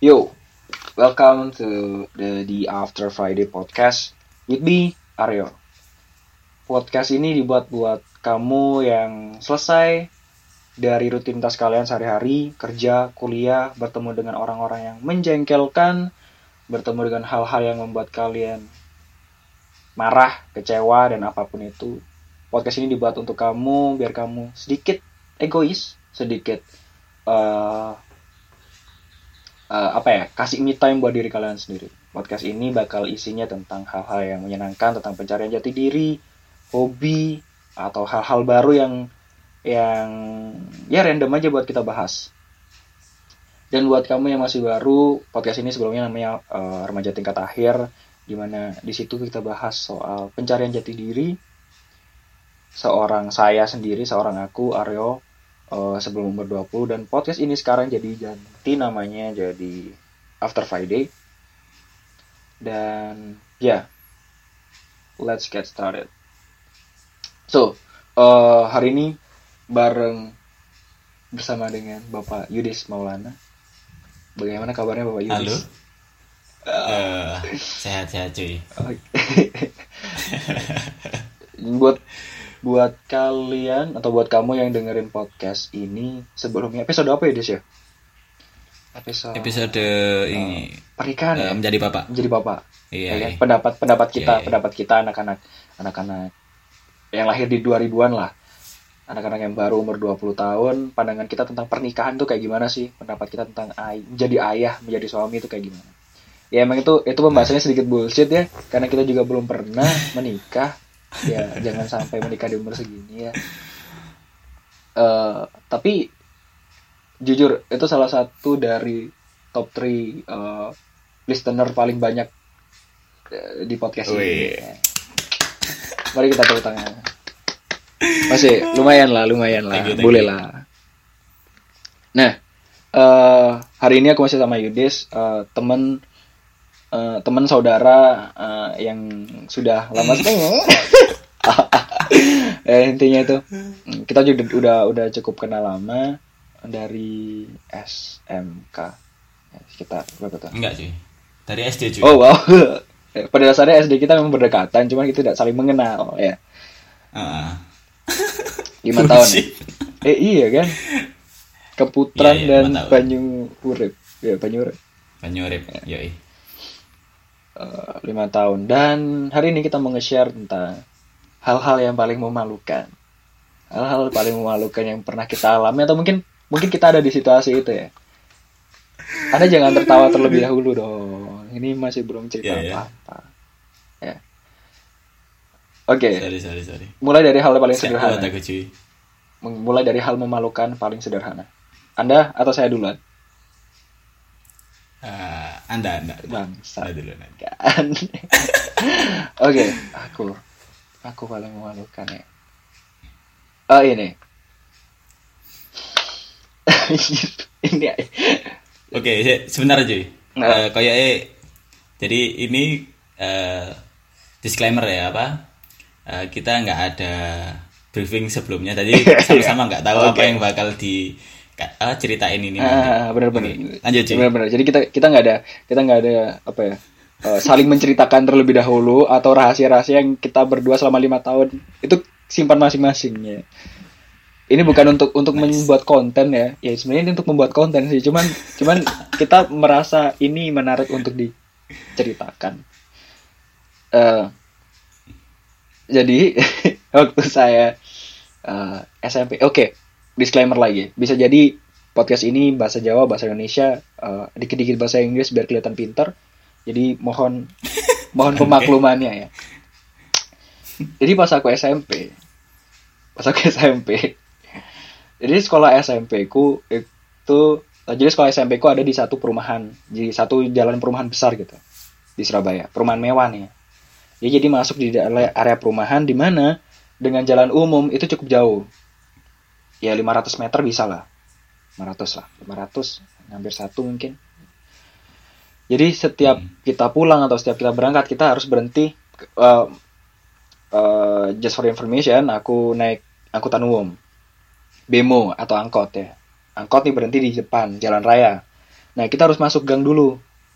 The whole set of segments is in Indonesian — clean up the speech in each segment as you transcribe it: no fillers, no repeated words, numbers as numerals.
Yo, welcome to the After Friday podcast with me, Aryo. Podcast ini dibuat buat kamu yang selesai dari rutinitas kalian sehari-hari, kerja, kuliah, bertemu dengan orang-orang yang menjengkelkan, bertemu dengan hal-hal yang membuat kalian marah, kecewa, dan apapun itu. Podcast ini dibuat untuk kamu, biar kamu sedikit egois, sedikit kasih me time buat diri kalian sendiri. Podcast ini bakal isinya tentang hal-hal yang menyenangkan, tentang pencarian jati diri, hobi, atau hal-hal baru yang ya random aja buat kita bahas. Dan buat kamu yang masih baru, podcast ini sebelumnya namanya Remaja Tingkat Akhir, dimana di situ kita bahas soal pencarian jati diri, seorang aku Aryo, sebelum umur 20, dan podcast ini sekarang jadi ganti namanya jadi After Friday. Dan let's get started. So, hari ini bersama dengan Bapak Yudis Maulana. Bagaimana kabarnya Bapak Yudis? Halo. Sehat-sehat cuy. Buat kalian atau buat kamu yang dengerin podcast ini sebelumnya, episode apa ya Des ya? Episode ini pernikahan ya? Menjadi bapak. Iya. Ya, pendapat kita anak-anak yang lahir di 2000-an lah. Anak-anak yang baru umur 20 tahun, pandangan kita tentang pernikahan tuh kayak gimana sih? Pendapat kita tentang menjadi ayah, menjadi suami itu kayak gimana? Ya emang itu pembahasannya sedikit bullshit ya, karena kita juga belum pernah menikah. Ya jangan sampai menikah di umur segini ya. Tapi jujur itu salah satu dari top 3 listener paling banyak di podcast ini. Mari kita tepuk tangan. Masih lumayan lah, boleh lah. Nah, hari ini aku masih sama Yudis, teman saudara yang sudah lama intinya itu kita juga udah cukup kenal lama dari SMK. Kita berapa tahun? Enggak cuy, dari SD cuy. Oh wow. Pada dasarnya SD kita memang berdekatan, cuman kita tidak saling mengenal ya. 5 tahun. Iya kan? Keputran dan Banyurip. Ya, Banyurip. Yoi. 5 tahun. Dan hari ini kita mau nge-share tentang hal-hal yang paling memalukan. Hal-hal paling memalukan yang pernah kita alami, atau mungkin kita ada di situasi itu ya. Anda jangan tertawa terlebih dahulu dong. Ini masih belum cerita apa-apa. Ya. Oke. Sorry. Mulai dari hal paling sederhana. Aku, cuy. Mulai dari hal memalukan paling sederhana. Anda atau saya duluan? Anda. Bangsa. Anda duluan. Oke, aku paling memalukan ya. Ini. Ini. Oke, sebentar cuy. Jadi ini disclaimer ya kita nggak ada briefing sebelumnya, tadi sama-sama nggak tahu apa yang bakal ceritain ini. Benar-benar. Lanjut cuy. Benar-benar. Jadi kita nggak ada saling menceritakan terlebih dahulu, atau rahasia-rahasia yang kita berdua selama 5 tahun itu simpan masing-masingnya. Ini bukan untuk membuat konten ya. Ya sebenarnya ini untuk membuat konten sih. Cuman kita merasa ini menarik untuk diceritakan. Jadi waktu saya SMP. Oke, disclaimer lagi. Bisa jadi podcast ini bahasa Jawa, bahasa Indonesia, dikit-dikit bahasa Inggris biar kelihatan pintar. Jadi mohon pemaklumannya ya. Jadi pas aku SMP. Jadi sekolah SMP ku ada di satu perumahan, di satu jalan perumahan besar gitu di Surabaya, perumahan mewah nih. Ya, jadi masuk di area perumahan di mana dengan jalan umum itu cukup jauh. Ya 500 meter bisa lah. 500 hampir 1 mungkin. Jadi setiap kita pulang atau setiap kita berangkat kita harus berhenti. Just for information, aku naik angkutan umum, bemo atau angkot ya. Angkot nih berhenti di depan jalan raya. Nah, kita harus masuk gang dulu.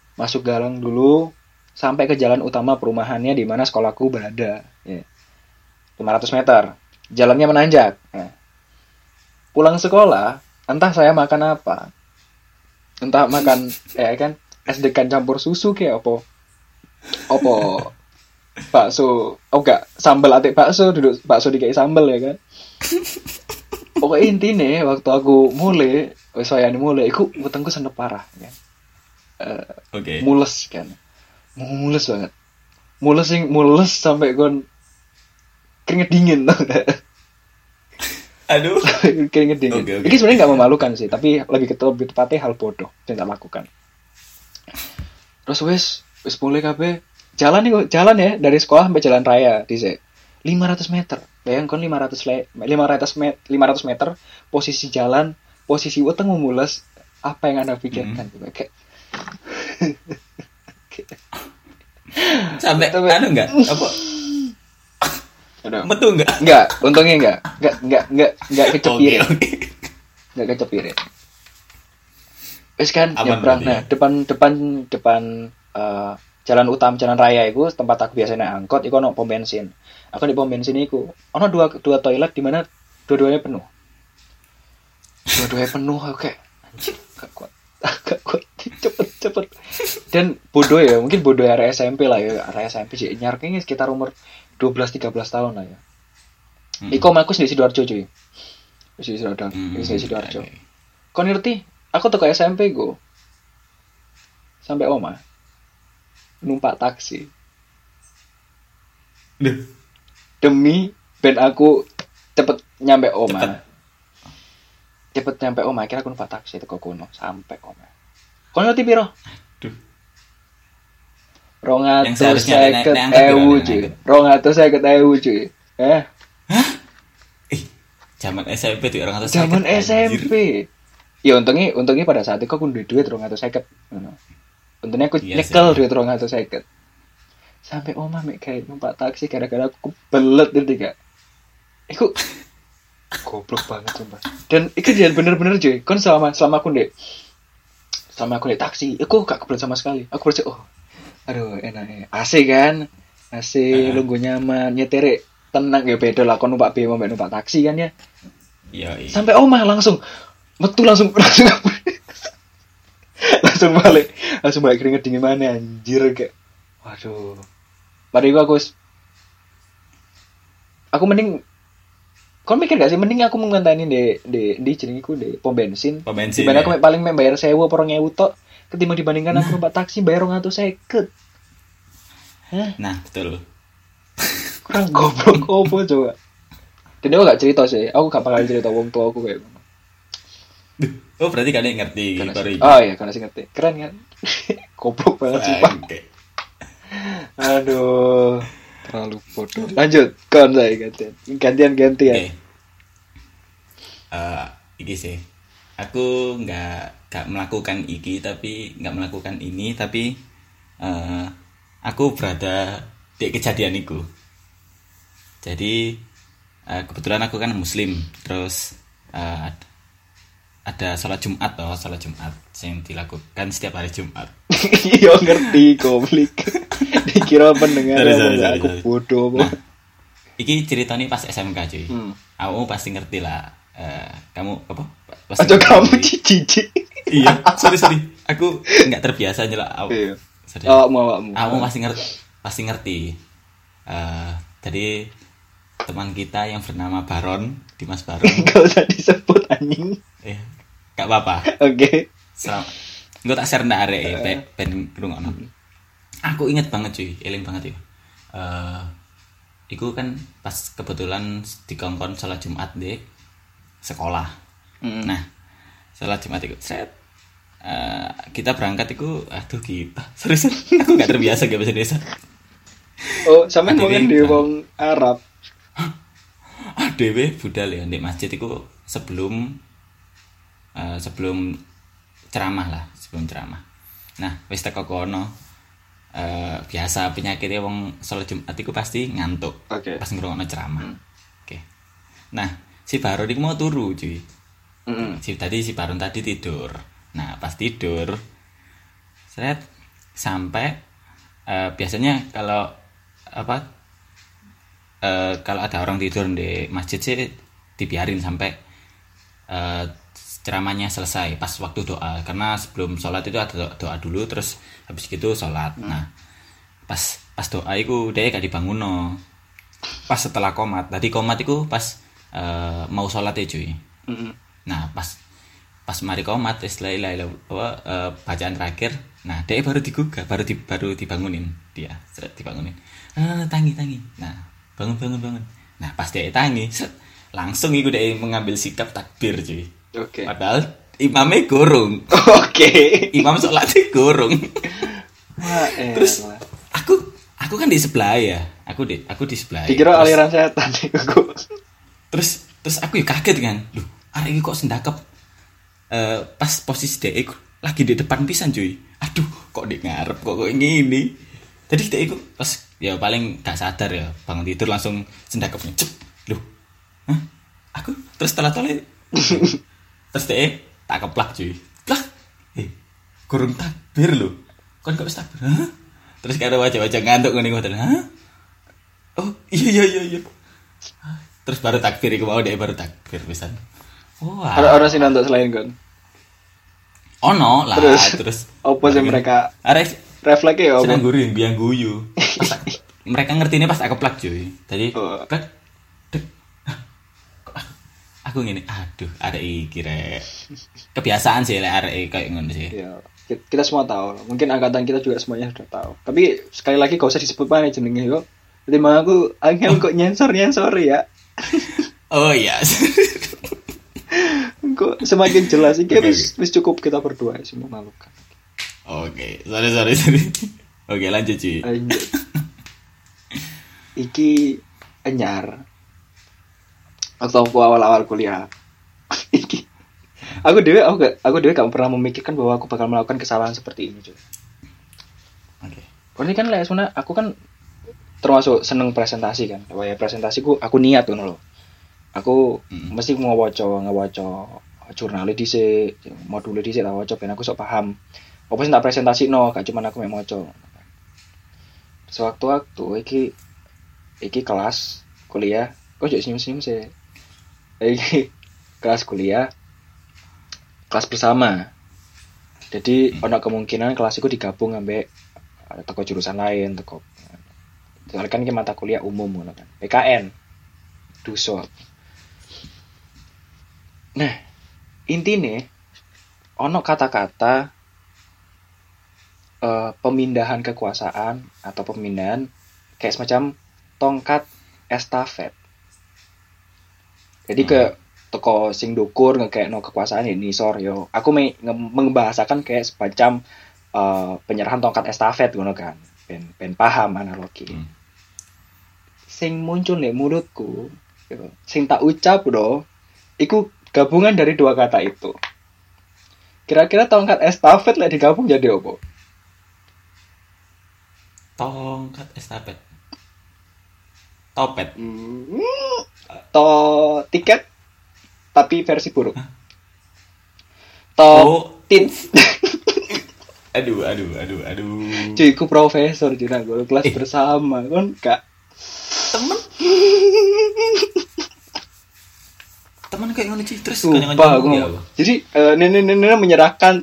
Sampai ke jalan utama perumahannya di mana sekolahku berada. Ya. 500 meter. Jalannya menanjak. Nah, pulang sekolah, entah saya makan apa. Entah makan kan es-degan campur susu kayak opo bakso. Oh enggak, sambal atik bakso, duduk bakso dikai sambal ya kan. Pokoknya intinya waktu aku mulai iku wetengku senep parah kan. Mules kan. Mules banget. Mules sampai kon keringet dingin. Aduh. Keringet dingin. Okay. Ini sebenarnya nggak memalukan sih, tapi lebih tepatnya hal bodoh yang tak lakukan. Terus wes mulai kabeh jalan ya dari sekolah sampai jalan raya di 500 meter. Bayangkan 500 meter posisi jalan, posisi weteng mules, apa yang Anda pikirkan juga kayak sampai enggak apa metu enggak untungnya enggak kecepir enggak kecepir wes kan nyebrang. Nah depan jalan utama jalan raya itu tempat aku biasa naik angkot iku ono pom bensin. Aku di pom bensin iku ono dua toilet di mana dua-duanya penuh aku kayak anjir gak kuat cepet dan bodoh ya, mungkin bodoh area SMP lah ya, area SMP sih nyarknya sekitar umur 12-13 tahun lah ya. Iko aku di Sidoarjo cuy, di Sidoarjo. Kau ngerti? Aku tuh ke SMP go sampai oma numpak taksi demi ben aku cepet nyampe oma. Akhirnya aku numpak taksi teko kono sampai oma. Kau ngerti piro? 250.000 cuy. Hah? Zaman SMP tuh 250. Zaman SMP. Ya untungnya pada saat itu aku duit 250. Untungnya aku nyekel duit 250. Sampai oma mek kayak numpak taksi gara-gara aku kebelet gitu gak. Iku goblok banget sumpah. Dan itu dia bener-bener cuy. Kan selama aku di taksi, aku gak kebelet sama sekali. Aku berarti aduh enak AC kan, AC lungguh nyaman, nyetir tenang ya beda lah kon numpak BM mbak numpak taksi kan ya. Iya. Sampai omah langsung metu langsung balik keringet dingin mana anjir kayak waduh. Padahal aku mending kon mikir gak sih mending aku ngenteni di jenengku di pom bensin. Dibanding aku paling bayar 1.000 apa 2.000 tok ketimbang dibandingkan aku numpak taksi bayar 250. Hah? Nah, betul. Kurang goblok opo coba. Dan aku gak cerita sih. Aku gak bakal cerita wong tua aku kayak ngono. Oh, berarti kalian ngerti baru. Oh iya, kalian ngerti. Keren kan? Goblok banget sumpah. Aduh, terlalu bodoh. Lanjut, kon saya gantian. Okay. Iki sih. Aku nggak melakukan ini tapi aku berada di kejadian itu. Jadi kebetulan aku kan muslim, terus ada sholat Jumat yang dilakukan setiap hari Jumat. Iya ngerti goblok. Dikira pendengar aku bodoh. Nah, iki ceritanya pas SMK cuy. Kamu pasti ngerti lah. Kamu apa? Atau kamu cici. Iya, sorry. Aku nggak terbiasa aja lah. Iya. Kamu pasti ngerti. Tadi teman kita yang bernama Baron, Dimas Baron. Enggak usah disebut anjing. Gak apa-apa. Oke. Gue tak share ndak arek ben krungono. Aku inget banget cuy, eling banget ya. Iku kan pas kebetulan dikongkon sholat Jumat deh sekolah. Nah, sholat Jumat itu kita berangkat itu kita. Serius aku gak terbiasa gak bahasa Indonesia. Oh, sampean ngomong di wong Arab. Dewe budal ya di masjid itu sebelum ceramah. Nah, wis teko kono. Biasa penyakitnya wong sholat Jumat itu pasti ngantuk. Okay. Pas ngrungokno ceramah. Oke. Nah, si Baron iku mau turu, cuy. Tadi si Baron tadi tidur. Nah pas tidur seret sampai biasanya kalau kalau ada orang tidur di masjid sih dibiarin sampai ceramahnya selesai pas waktu doa, karena sebelum sholat itu ada doa dulu terus habis gitu sholat. Nah pas doa itu dia gak dibangun no. Pas setelah komat, tadi komat itu pas mau sholat ya cuy. Nah pas mari komat istilah bacaan terakhir, nah dia baru digugah, baru dibangunin dia, dibangunin. Tangi. Nah bangun. Nah pas dia tangi, langsung itu dia mengambil sikap takbir cuy. Oke. Padahal imamnya gorong. Oke. Imam sholatnya gorong. Wah, terus aku kan di sebelah ya. Aku di sebelah. Dikira aliran setan iku. Terus aku ya kaget kan. Loh, arek iki kok sendakep. Pas posisi dhek lagi di depan pisan cuy. Aduh, kok di ngarep kok ngene. Jadi dhek iku pas ya paling gak sadar ya, bangun tidur langsung sendakepnya. Cep. Loh. Hah? Aku terus telat-telat. Terus dhek tak keplak cuy. Lah. Kurang takbir lho. Kon kok wis takbir? Hah? Terus karo wajah-wajah ngantuk ngene ngoten. Hah? Oh, iya. Terus baru takbir iku mau dhek baru takbir pisan. Wah. Orang sih nonton selain kan. Ono lah terus apa sih mereka refleksnya ya senang guring biang guyu. Mereka ngerti ini pas aku plak cuy. Tadi plak aku ngene, aduh arek iki rek. Kebiasaan sih lek arek kayak ngono sih. Ya, kita semua tahu. Mungkin angkatan kita juga semuanya sudah tahu. Tapi sekali lagi gak usah disebut mana jenenge kok. Jadi mah aku angel kok nyensor ya. Oh iya. Kok semakin jelas iki wis cukup kita berdua sih memalukan. Oke, sorry. Oke, lanjut cuy. Iki anyar. Waktu aku awal-awal kuliah. Iki aku dewe gak pernah memikirkan bahwa aku bakal melakukan kesalahan seperti ini, cuy. Oke. Ini kan sebenarnya aku kan termasuk seneng presentasi kan. Kayak presentasiku aku niat ngono loh. Aku mesti ngawaca jurnal dhisik, modul dhisik tak waca ben aku sok paham. Apa sih tak presentasino, gak cuma aku mek maca. Sewaktu-waktu iki kelas kuliah, kok jadi senyum-senyum sih. Iki kelas kuliah, kelas bersama. Jadi ada kemungkinan kelas itu digabung ambek teko jurusan lain, teko. Soalnya kan mata kuliah umum ngono kan. PKN. Duso. Nah, intinya ono kata-kata pemindahan kekuasaan atau pemindahan kayak semacam tongkat estafet. Jadi ke toko sing dukur ngekekno kekuasaan ini sor yo. Aku membahasakan kayak semacam penyerahan tongkat estafet ngono kan. Ben paham analogi. Sing muncul nek mulutku, yo, sing tak ucap do, iku gabungan dari dua kata itu. Kira-kira tongkat estafet lek digabung jadi apa? Tongkat estafet. Topet. Tiket tapi versi buruk. Tit. Aduh. Cuy, ku profesor Cina gue kelas bersama kan kak. Teman kayak ngono sih terus kanyan-kanyan. Jadi nenek menyerahkan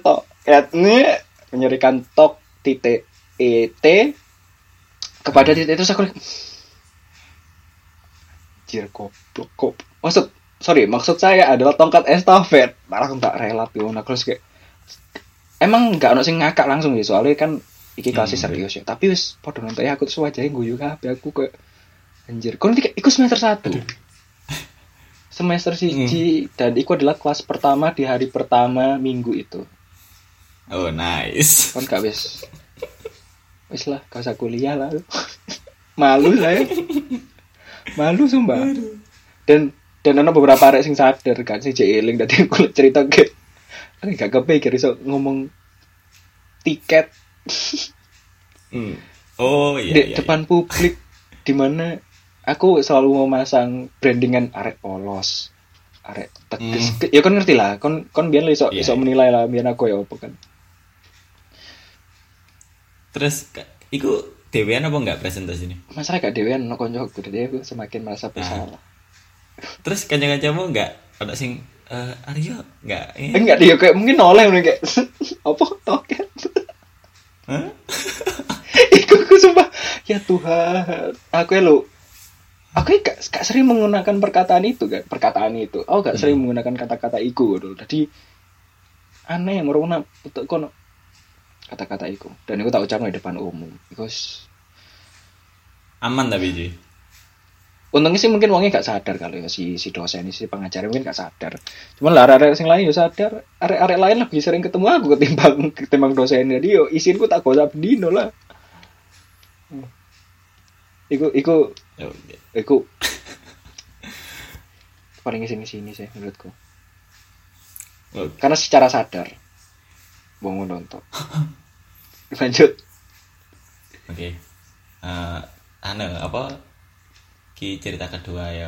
tok titik et kepada titik itu aku goblok. Maksud saya adalah tongkat estafet. Malah aku tak rela yo terus kayak emang enggak ono sing ngakak langsung ya soalnya kan iki kelas serius ya. Tapi wis padha nonton aku terus wajahe guyu kabeh aku kayak anjir. Kon iku semester 1. Semester 1 dan itu adalah kelas pertama di hari pertama minggu itu. Oh nice. Kan gak wis lah, gak usah kuliah lah. Malu saya. Malu sumpah. Dan ada beberapa arek sing sadar kan sing eling dadi aku cerita ke. Aku gak kepikir iso ngomong tiket. Oh iya. Di depan publik di mana aku selalu memasang brandingan arek polos, arek teges. Ya kon ngerti lah, kon biyen iso menilai lah biyen aku ya apa kan. Terus iku dewean apa enggak presentasi ini? Masalah gak dewean no koncoku, jadi aku semakin merasa bersalah. Terus kanca-kancamu enggak ada sing Aryo enggak? Enggak dia kayak mungkin oleh kayak apa toket. Hah? Aku sumpah ya Tuhan, aku gak sering menggunakan perkataan itu. Oh gak sering menggunakan kata-kata iku gitu. Jadi aneh merona untuk kono kata-kata iku. Dan aku tak ucapkan di depan umum. Because aman tapi Ji. Untungnya sih mungkin wongnya gak sadar kalau ya si dosen si pengajar mungkin gak sadar. Cuman lah arek sing lain ya sadar. Arek lain lebih sering ketemu aku ketimbang dosen. Jadi yo isinku tak gosap dino lah. Iku paling sini sih menurutku. Karena secara sadar wong nonton. Lanjut. Oke. Ki cerita kedua ya.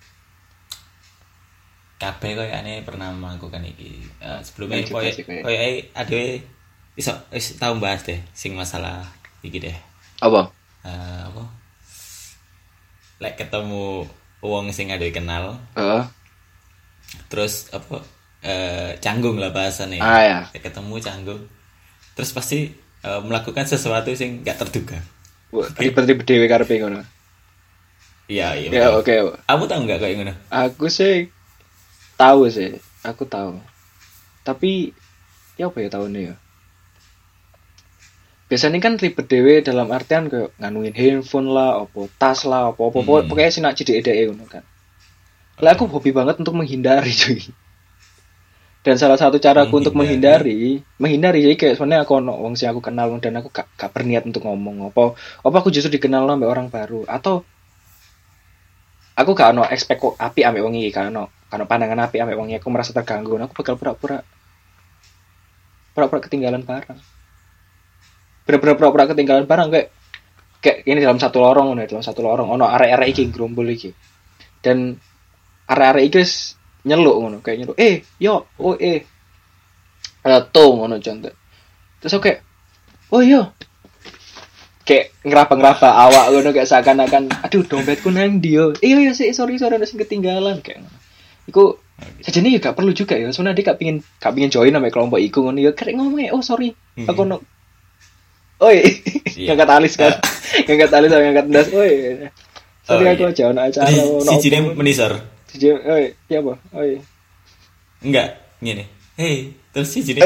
Kabeh koyo ane pernah melakukan iki. Sebelumnya koyo adewe iso tau bahas deh sing masalah iki deh. Apa? Lek ketemu wong sing adewe kenal. Terus canggung lah bahasane. Ya. Lek ketemu canggung. Terus pasti melakukan sesuatu sing gak terduga. Ribet-ribet dhewe karepe ngono. Iya. Ya oke. Kamu tahu nggak kayak gimana? Aku tahu. Tapi ya apa ya tahunnya ya? Biasanya kan ribet dewe dalam artian kayak nganuin handphone lah, opo tas lah, opo pokoknya sih nak cedek-cedek ngono kan. Lah aku hobi banget untuk menghindari cuy. Dan salah satu caraku untuk menghindari sih kayak sebenarnya aku wong sing aku kenal dan aku gak berniat untuk ngomong apa aku justru dikenal sama orang baru atau aku gak ono expect kok api ambek wong iki kan ono pandangan api ambek wong iki aku merasa terganggu aku bakal pura-pura ketinggalan barang. Bener-bener pura-pura ketinggalan barang kayak ini dalam satu lorong ono arek-arek iki gerombol iki. Dan arek-arek iki nyeluk ngono kayak nyeluk to ngono contoh. Terus aku kayak oh iya kayak ngeraba awak ngono kayak seakan-akan aduh dompetku nang ndi yo. Iya sorry ada sing ketinggalan kayak ngono. Iku sajane ya gak perlu juga ya. Soalnya dia gak pengin join sama kelompok iku ngono ya karek ngomong oh sorry. Aku no. Oi. Ngangkat alis kan. Ngangkat alis sama ngangkat ndas. Oi. Sorry aku aja ono acara ono. Sijine menisor. Oi, iya apa? Oi. Enggak, ngene. Hey, terus sijine.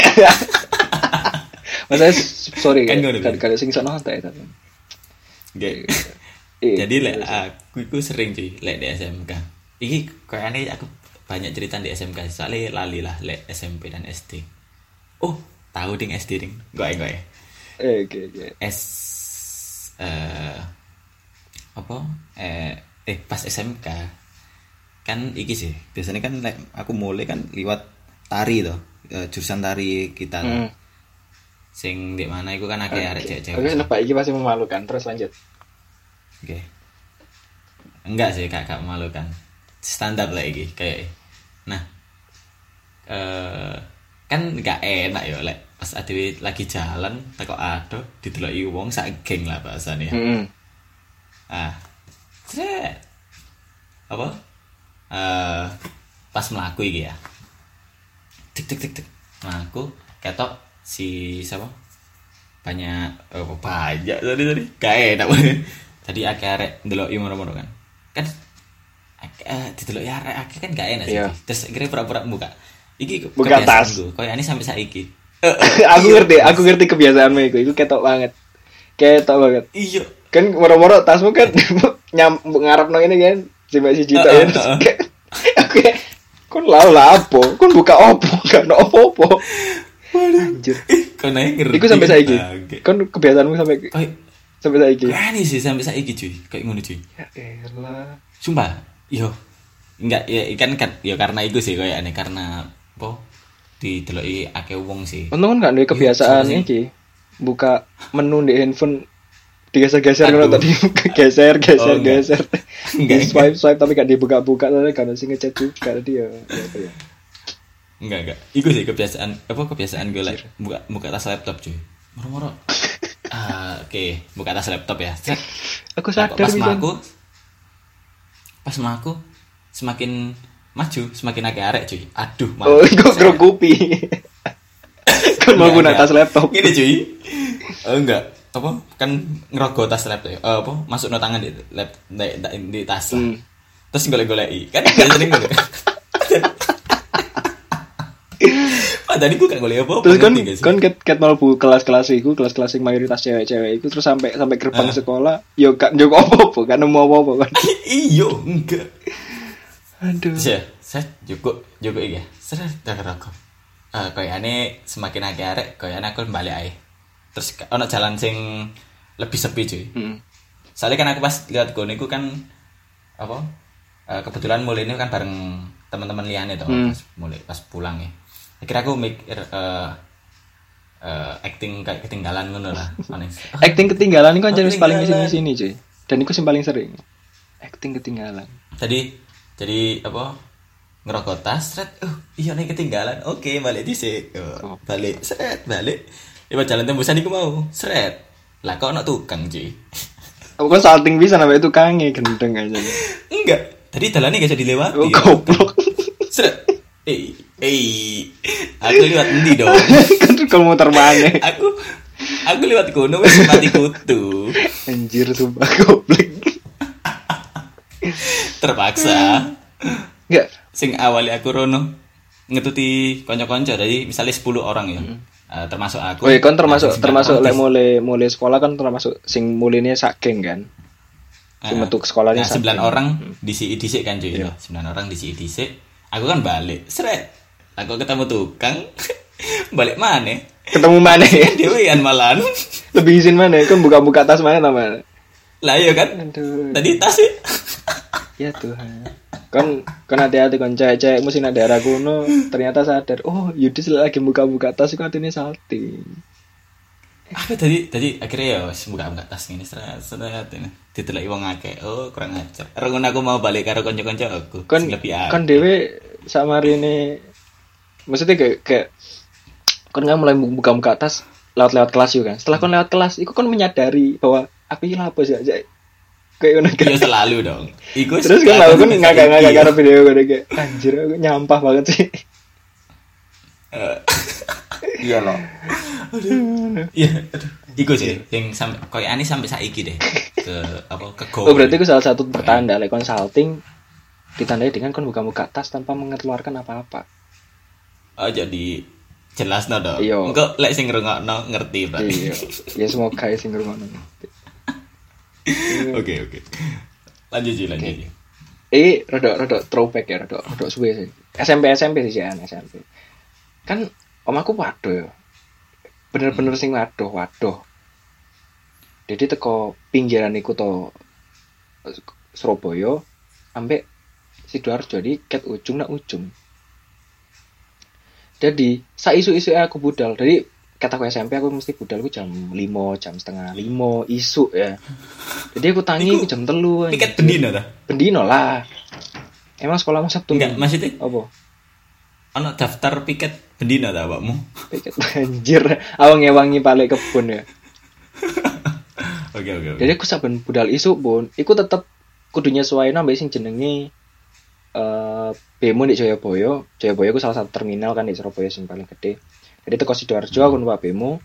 Masa sorry kan kalau sing sono santai ta. Nggih. Jadi lek aku sering cuy lek di SMK. Iki kayaknya aku banyak cerita di SMK soalnya lali lah lek SMP dan SD. Oh, tahu ding SD ding. Goe. Oke. Pas SMK kan iki sih. Biasanya kan lek aku mulai kan liwat tari toh. Jurusan tari kita toh. Sing di mana iku kan akeh arek cewek-cewek. Oke, kenapa iki masih memalukan? Terus lanjut. Oke. Enggak sih, gak memalukan. Standar lah iki kayak. Nah, kan gak enak ya lek pas adewe lagi jalan teko ado dideloki wong sak geng lah bahasane. Apa? Pas mlaku iki ya. Tik. Mlaku ketok si siapa? Banyak tadi. Gak enak banget. Tadi akeh arek ndeloki mono-mono kan. Kan dideloki arek kan gak enak sih. Yeah. Terus akhirnya pura-pura buka. Iki buka tas. Koyo ani sampai saiki. aku ngerti kebiasaanmu iku ketok banget. Iya. Kan moro-moro tasmu kan ngarepno ini kan cuma 1 juta ya. Oke. Kon lah apa? Kon buka opo? Gak ono opo-opo. Anjir. Kon ae ngerti. Iku sampai saiki. Kon kebiasaanmu sampai saiki. Ani sih sampai saiki cuy. Kayak ngono cuy. Ya elah. Sumpah. Yo. Enggak ya kan ya karena itu sih kayak aneh karena apa dideloki akeh wong sih. Untung kan gak duwe kebiasaan iki. Buka menu di handphone Digeser-geser Aduh. ngono tadi geser Oh, enggak. geser. Enggak, Di swipe tapi gak dibuka-buka soalnya kan sing ngechat juga dia. Apa ya? Enggak. Iku sih kebiasaan gue lah. Buka tas laptop cuy. Moro-moro. Oke, buka tas laptop ya. Set. Aku Nah, kok sadar bisa. pas maku semakin maju, semakin akeh arek cuy. Aduh, Oh, iku grogupi. Kan mau guna Enggak. tas laptop. Gini cuy. Enggak. Apa? Kan ngerogoh tas laptop ya. Masuk no tangan di tas lah. Terus golek-goleki. Kan biasanya ngono. Padahal iku gak golek apa-apa. Terus ngerti gak sih? kan ket mlebu kelas-kelas iku, kelas-kelas sing mayoritas cewek-cewek iku terus sampai gerbang sekolah, yo gak njuk apa-apa, gak nemu apa-apa kan. Iyo, enggak. Aduh. Saya cukup iki ya. Seret rokok. Kayaknya semakin akeh arek, kayaknya aku balik ae. Terus ono jalan sing lebih sepi cuy. Soalnya kan aku pas lihat kono iku kan apa? Kebetulan mulai ini kan bareng teman-teman liane tuh pas pulang ya. Akhirnya aku mikir acting kayak ketinggalan ngono lah. Acting ketinggalan iku kan jenis paling ketinggalan. sini cuy. Dan iku sing paling sering. Acting ketinggalan. Jadi apa? Ngerokok tas, seret. Iya nih ketinggalan. Oke, balik dhisik. Balik, seret, balik. Lewat jalan tembusan iku mau, seret. Lah kok ono tukang, cuy. Aku kan salting bisa sampai itu kange gendeng aja. Enggak. Tadi jalannya gak bisa dilewati. Oh, goblok. Seret. Aku lewat endi dong? Kan kalau muter maneh. Aku lewat kono wis mati kutu. Anjir sumpah goblok. Terpaksa. Enggak. Sing awalnya aku rono ngetuti konco-konco dari misalnya 10 orang ya. Termasuk aku. Oh iya kan termasuk Nah, lek mulai sekolah kan termasuk sing muline sak geng kan. Sing metu ke sekolahnya nah, 9 orang disi kan cuy. Iya. 9 orang disi. Aku kan balik. Seret. Aku ketemu tukang. Balik mana? Ketemu mana ya? Dewean malahan. Lebih izin mana? Kan buka-buka tas mana namanya? Lah iya kan? Aduh. Tadi tas sih. Ya Tuhan. Kan hati-hati kan cewek-cewek mesti nak daerah kuno ternyata sadar. Oh, Yudis lagi buka-buka tas itu artinya salting. Apa tadi akhirnya ya wis buka tas ini seret ini. Diteleki wong akeh. Oh, kurang ajar. Rengun aku mau balik karo kanca-kanca aku. Kan Sing lebih akeh. kan dhewe samarine maksudnya kayak kan nggak mulai buka-buka tas lewat kelas juga kan. Setelah kan lewat kelas, itu kan menyadari bahwa aku ini apa sih aja. Kayak ngono kan. Ya selalu dong. Iku Terus kan aku kan ngagak-ngagak karo video gue kayak anjir aku nyampah banget sih. Iya loh. Iya, aduh. Iku sih sing koyo ani sampai saiki deh ke go. Oh berarti itu salah satu pertanda like consulting ditandai dengan kon buka-buka tas tanpa mengeluarkan apa-apa. Oh jadi jelas no dong. Iya. Engko lek sing ngrungokno ngerti berarti. Iya. Ya semoga ya sing ngrungokno. Oke. Lanjut. Rada throwback ya, rada suwe sih. SMP sih ya, SMP. Kan omaku waduh ya. Bener-bener sing waduh. Jadi teko pinggiran iku to Surabaya ambek Sidoarjo di ket ujung nak ujung. Jadi saisu-isu aku budal. Jadi kataku SMP aku mesti budal jam 5, jam setengah 5 isu ya. Jadi aku tangi Iku jam 3. Piket bendino ta? Bendino lah. Emang sekolahmu Sabtu? Enggak, maksudnya apa? ono daftar piket bendino ta awakmu? Piket anjir. Aku ngewangi balik kebun ya. Oke. Jadi aku saben budal isu pun, iku tetep kudu nyesuaiin ambek sing jenenge Bemo di Jayabaya. Jayabaya ku salah satu terminal kan di Surabaya sing paling gede. Jadi teko Sidoarjo aku numpak Bemo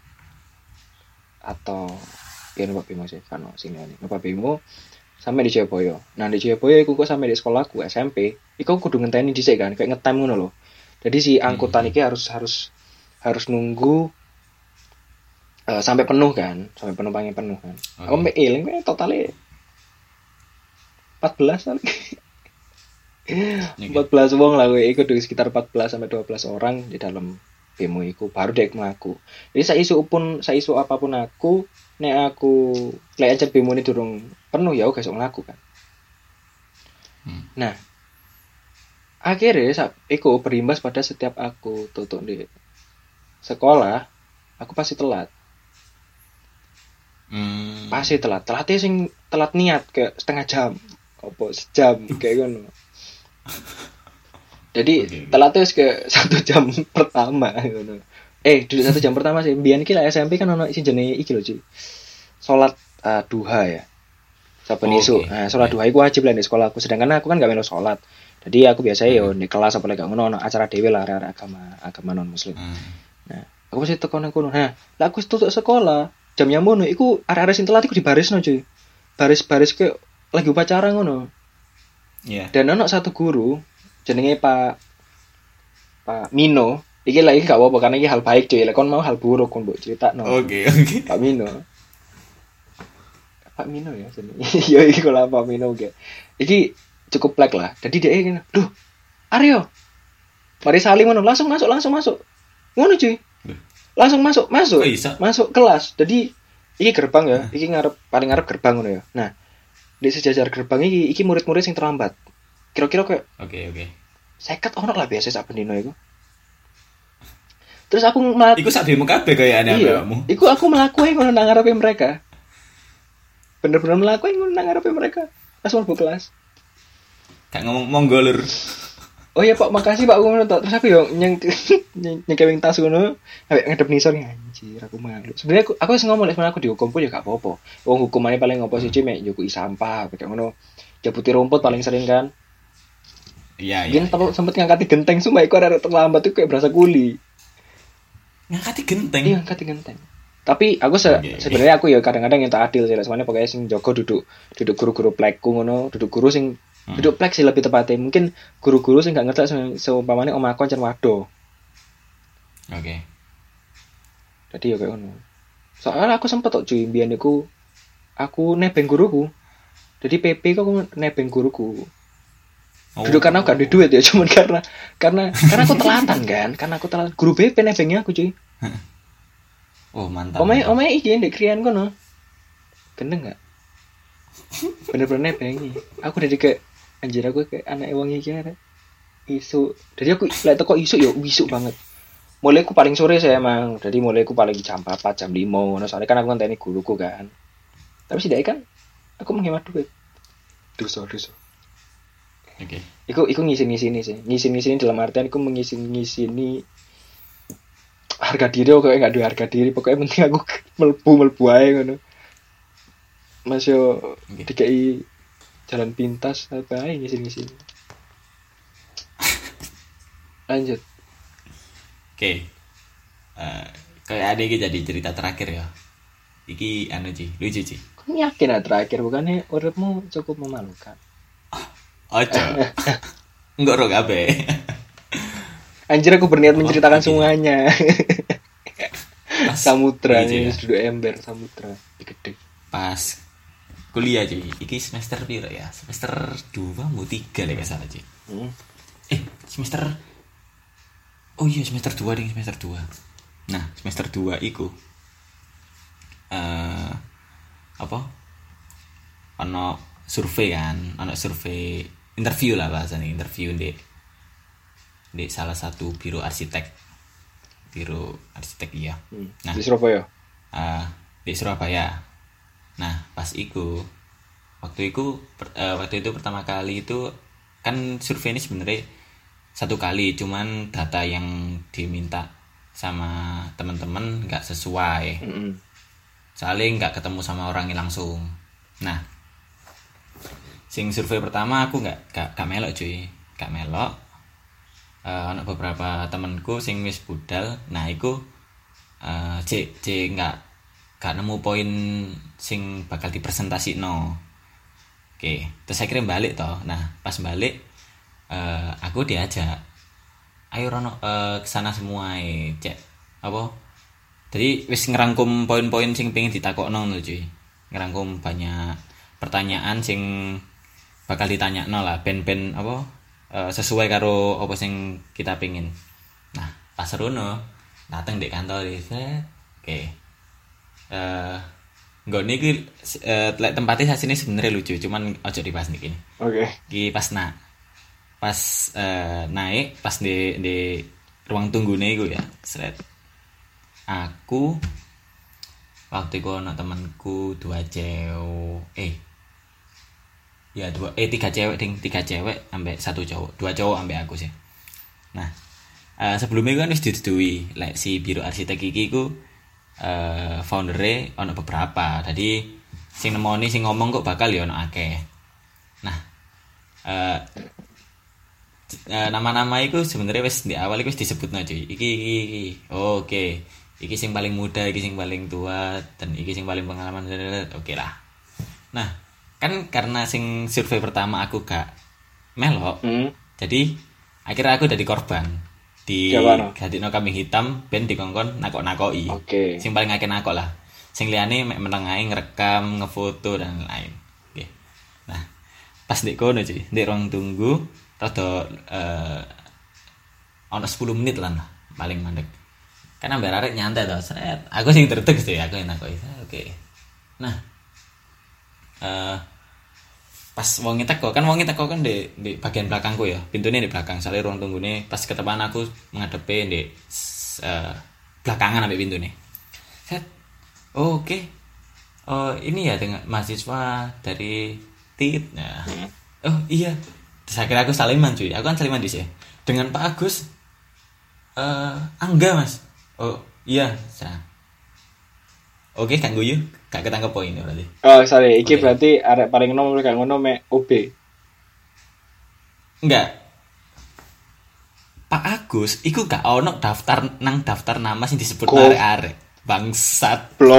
atau ya numpak Bemo sih kan sini numpak Bemo sampai di Jayabaya. Nah di Jayabaya iku kok sampai di sekolahku SMP, iku kudu ngenteni dhisik kan kayak ngetem ngono lho. Jadi si angkutan iki harus nunggu sampai penuh kan, sampai penumpangnya penuh kan. Okay. Aku mbek eling totalnya 14 kali. 14 wong lah gue ikut di sekitar 14 sampai 12 orang di dalam bemo iku baru dek mlaku. Jadi saisu apapun aku nek aku lek aja bemo ini durung penuh ya aku gak iso mlaku kan. Nah, akhirnya iku berimbas pada setiap aku tutup di sekolah, aku pasti telat. Pasti telat. Telatnya sing telat niat kayak setengah jam. Apa sejam kayak ngono. Jadi Oke. telatnya kayak 1 jam pertama ngono. Duduk 1 jam pertama sih. Biyen iki lah SMP kan ono sing jenenge iki lho, Ci. Salat duha ya. Saben isuk. Nah, salat duha iku wajib lah di sekolahku. Sedangkan aku kan gak melu salat. Jadi aku biasanya yo di kelas apa lagi gak ngono ono acara dhewe lah arek agama non muslim. Nah, aku mesti teko nang kono. Nah, lah aku tutup sekolah, jam yang ngono iku arek-arek sing telat iku dibarisno, cuy. Baris-baris ke lagi upacara ngono. Iya. Dan ono satu guru jenenge Pak Mino. Iki lagi gak apa-apa karena iki hal baik, cuy. Lek kon mau hal buruk kon mbok critakno. Oke. Pak Mino. Pak Mino ya jenenge. Yo iki kok Pak Mino ge. Iki cukup plek lah. Jadi dia ngene, "Duh, Aryo. Mari saling ngono, langsung masuk. Ngono cuy. Langsung masuk. Oh, bisa? Masuk kelas. Jadi iki gerbang ya, iki paling ngarep gerbang ngono ya. Nah, di sejajar gerbang iki murid-murid sing terlambat. Kira-kira kayak Oke. 50 ono lah biasa sak bendino iku. Terus aku Iku sak demo kabeh kayakane iya, awakmu. iku aku melakukan ngono nang ngarepe mereka. Bener-bener melakukan ngono nang ngarepe mereka. Langsung mlebu kelas. Gak ngomong monggo lur. Oh iya Pak, makasih Pak ngono tok. Terus aku yo nyengkewing tas ngono, ambek ngadep nisor anjir aku malu. Sebenarnya aku wis ngomong lek aku dihukum pun ya gak apa-apa. Wong hukumannya paling ngopo sih mek njukuki sampah kayak ngono. Jabuti rumput paling sering kan. Iya. Gini sempet ngangkati genteng sumpah iku arek terlambat itu kayak berasa kuli. Ngangkati genteng. Iya, ngangkati genteng. Tapi aku sebenarnya aku ya kadang-kadang yang tak adil sih, soalnya pokoknya sing jaga duduk guru-guru plekku ngono, duduk guru sing duduk plek sih lebih tepatnya. Mungkin guru-guru sing gak ngerti seumpamane om aku ancen wado. Oke. Jadi ya kayak ngono. Soalnya aku sempet tok cuy mbiyen iku aku nebeng guruku. Jadi PP kok aku nebeng guruku. Duduk karena aku gak ada duit ya, cuman karena aku telatan kan, karena aku telatan. Guru BP nebengnya aku cuy. Oh, mantap. Omanya iki ndek krian kono. Gendeng gak? Bener-bener nebengi. Aku dari kayak anjir aku kayak anak wong iki arek. Isu. Jadi aku lek teko isu ya wisuk banget. Mulai aku paling sore saya emang. Jadi mulai aku paling jam 4, jam 5 ngono. Soalnya kan aku ngenteni guruku kan. Tapi setidaknya kan aku menghemat duit. Dosa. Oke. Iku ngisi-ngisini sih. Ngisi-ngisini dalam artian iku mengisi-ngisini harga diri kok gak ada harga diri. Pokoknya penting aku mlebu ae ngono. Mas yo dikai jalan pintas apa ae ngisi-ngisini. Lanjut. Oke. Kayak ada iki jadi cerita terakhir ya. Iki anu Ci, lucu Ci. Kau yakin terakhir bukannya uripmu cukup memalukan? Ojo. Enggak ro kabeh. Anjir aku berniat menceritakan semuanya. Samudra Iya, ini duduk ember samudra gede. Pas kuliah Ci, iki semester piro ya? Semester 2 mau 3 lek gak salah Ci. Semester Oh iya semester 2 ding, semester 2. Nah, semester 2 iku apa? Ono survei kan, ono survei interview lah bahasanya, interview di salah satu biro arsitek iya. Nah, Di Surabaya. Di Surabaya. Nah, pas iku waktu itu pertama kali itu kan survei ini sebenarnya 1 kali, cuman data yang diminta sama teman-teman nggak sesuai. Soalnya nggak ketemu sama orangnya langsung. Nah, sing survei pertama aku nggak melok cuy, nggak melok. Ada beberapa temanku sing wis budal. Nah, iku c nggak nemu poin sing bakal dipresentasikno. Oke, terus akhirnya balik toh. Nah, pas balik aku diajak, ayo Rono kesana semua cek apa. Jadi wis ngerangkum poin-poin sing pengen ditakokno lho cuy. Ngerangkum banyak pertanyaan sing bakal ditanyakno lah, ben apa sesuai karo apa sing kita pengin. Nah, pas Rono dateng di kantor oke. Nggone iki lek tempatnya asine sebenarnya lucu, cuman ojo dibahas niki. Oke. Iki pas naik pas di ruang tunggune iku ya. Aku waktu itu ono temanku tiga cewek ambek satu cowok, 2 cowok ambek aku sih. Nah, sebelumnya kan wis didudui si Biro Arsitek iki ku foundere ono beberapa. Jadi sing nemoni sing ngomong kok bakal ya ono akeh. Nah, nama-nama itu sebenarnya wis di awal wis disebutno cuy. Iki. Oke. Iki sing paling muda, iki sing paling tua, dan iki sing paling pengalaman. Oke lah. Nah, kan karena sing survei pertama aku gak melok. Jadi akhirnya aku jadi korban. Gadikno kambing hitam ben dikongkon nakok-nakoki. Oke. Sing paling akeh nakok lah. Sing liyane mek meneng ae ngerekam, ngefoto dan lain. Oke. Nah, pas ndek kono cuy, ndek ruang tunggu rada ono 10 menit lah paling mandek. Kan ambek arek nyantai to, seret. Aku sing tertek sih, aku yang nakoki. Oke. Nah, pas wong teko kan di bagian belakangku ya, pintunya di belakang. Soalnya ruang tunggune pas ketepan aku ngadepe di belakangan ambek pintune. Set. Oke. Oh, ini ya dengan mahasiswa dari TIT. Nah. Oh, iya. Terus akhirnya aku saliman cuy. Aku kan saliman di sini dengan Pak Agus. Angga Mas. Oh iya, oke, kan guyu, gak ketangkep poinnya berarti. Oh, sorry, iki berarti arek paling nomor gak ngono mek OB. Enggak. Pak Agus iku gak ono daftar nama sing disebut arek-arek. Bangsat. Blok.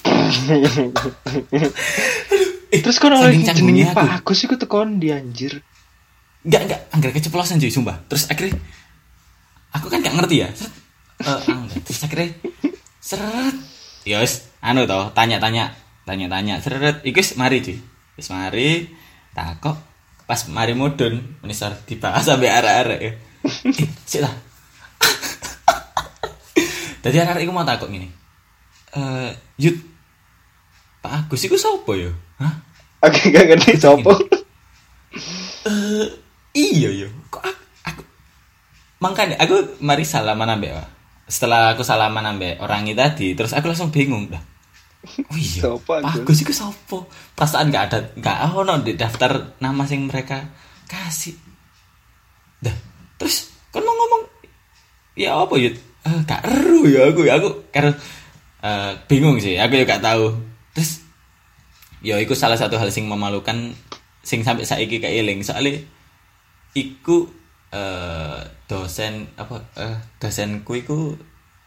Terus kon oleh jenenge Pak Agus iku tekon di anjir. Enggak, anggar keceplosan cuy, sumpah. Terus akhirnya aku kan gak ngerti ya. Terus akhirnya seret ya wis tanya-tanya seret iku wis mari cuy, wis mari takok pas mari mudun menisor dibahas sampai arek-arek ya. Sik lah. Dadi arek iku mau takok ngene. Yud Pak Agus iku sapa ya? Hah? Aku gak ngerti sapa. Iya yo. Kok aku makanya aku mari salaman ambek setelah aku salaman ambek orang itu tadi, terus aku langsung bingung dah. Oh iya, Pak Agus iku sapa? Perasaan gak ono di daftar nama sing mereka kasih. Dah, terus kan mau ngomong ya apa ya? Gak eru ya aku karena bingung sih, aku juga gak tahu. Terus ya iku salah satu hal sing memalukan sing sampai saiki keiling soalnya iku dosenku iku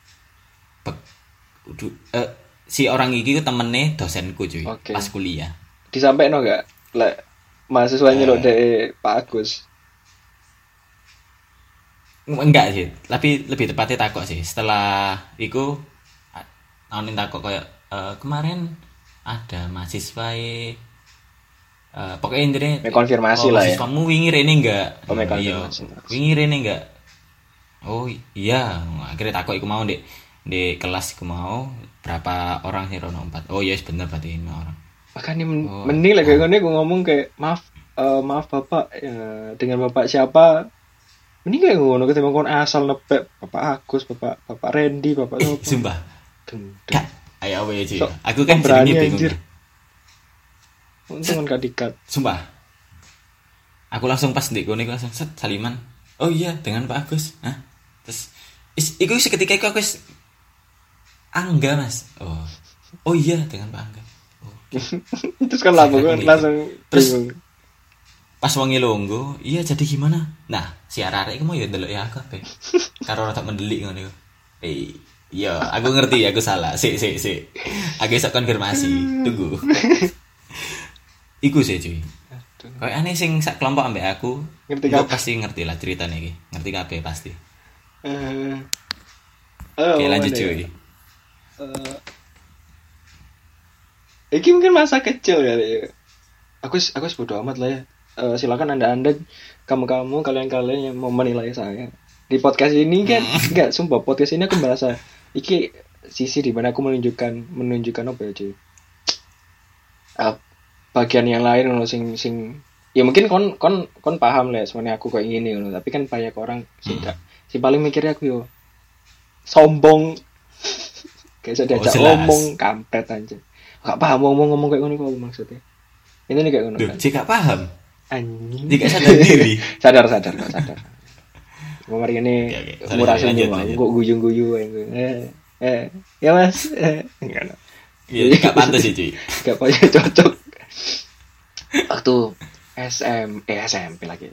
si orang iki ku temene dosenku cuy. Okay. Pas kuliah. Disampaikno gak lek mahasiswa nyeluk dari Pak Agus? Enggak sih, tapi lebih tepatnya takok sih. Setelah iku anonin takok kayak kemarin ada mahasiswa pokoknya intinya konfirmasi lah ya. Kamu wingi rene enggak? Iya. Wingi rene enggak? Oh iya, akhirnya takut iku mau di kelas iku mau berapa orang sih rono 4. Oh iya bener berarti 5 orang. Makanya mending lah kayak gini gue ngomong kayak maaf Bapak dengan Bapak siapa? Mending kayak ngono ketimbang kon asal nepek Bapak Agus, Bapak Randy, Bapak siapa? Sumpah. Kak, ayo apa ya cuy? So, aku kan jenenge bingung. Untung kan dikat. Sumpah. Aku langsung pas ndek kono langsung saliman. Oh iya, dengan Pak Agus. Hah? Terus iku seketika iku aku wis Angga, Mas. Oh iya, dengan Pak Angga. Oh. Terus kan langsung terus pas wong longgo, iya jadi gimana? Nah, si arek iku mau ya ndelok ya aku ape. Karo rada mendelik ngono iku. Iya, aku ngerti, aku salah. Sik. Aku iso konfirmasi. Tunggu. Iku sih cuy. Kayak aneh sing sak kelompok ambek aku. Ngerti kabeh. Pasti ngerti lah ceritanya iki. Ngerti kabeh pasti. Oke, lanjut cuy. Iki mungkin masa kecil kali ya. Aku bodo amat lah ya. Silakan anda kamu kalian yang mau menilai saya di podcast ini kan. Enggak, sumpah podcast ini aku merasa iki sisi di mana aku menunjukkan apa ya cuy. Bagian yang lain loh sing ya mungkin kon paham lah sebenarnya aku kayak gini loh, tapi kan banyak orang sing paling mikirnya aku yo sombong Gak bisa diajak ngomong, kampret anjir. Gak paham ngomong kayak ngono apa maksudnya. Ini nih kayak ngono kan. Jika paham. Anjing. Jika sadar diri. sadar. Kemarin ini murah senyum, kok guyu-guyu ya Mas. Enggak. Iya, gak pantas sih, cuy. Gak payah cocok. Waktu SMP lagi.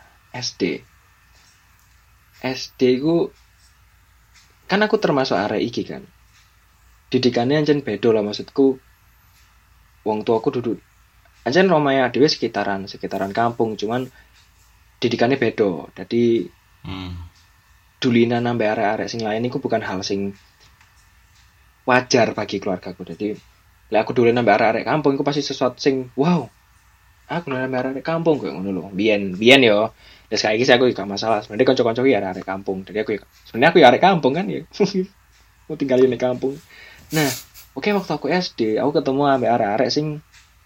SD ku kan aku termasuk arek iki kan. Didikannya ancen beda lah maksudku. Wong tuaku duduk ancen romanya dhewe sekitaran kampung, cuman didikannya beda. Jadi dulina nambah arek-arek sing lain iku bukan hal sing wajar bagi keluargaku. Jadi lek aku dulina nambah arek-arek kampung iku pasti sesuatu sing wow. Aku dulina nambah arek kampung koyo ngono lho. Biyen yo. Dan saiki aku gak masalah. Sebenarnya kanca-kanca ya arek kampung. Jadi aku sebenarnya aku ya arek kampung kan ya. Mau tinggal di kampung. Nah, oke waktu aku SD, aku ketemu ambek arek-arek sing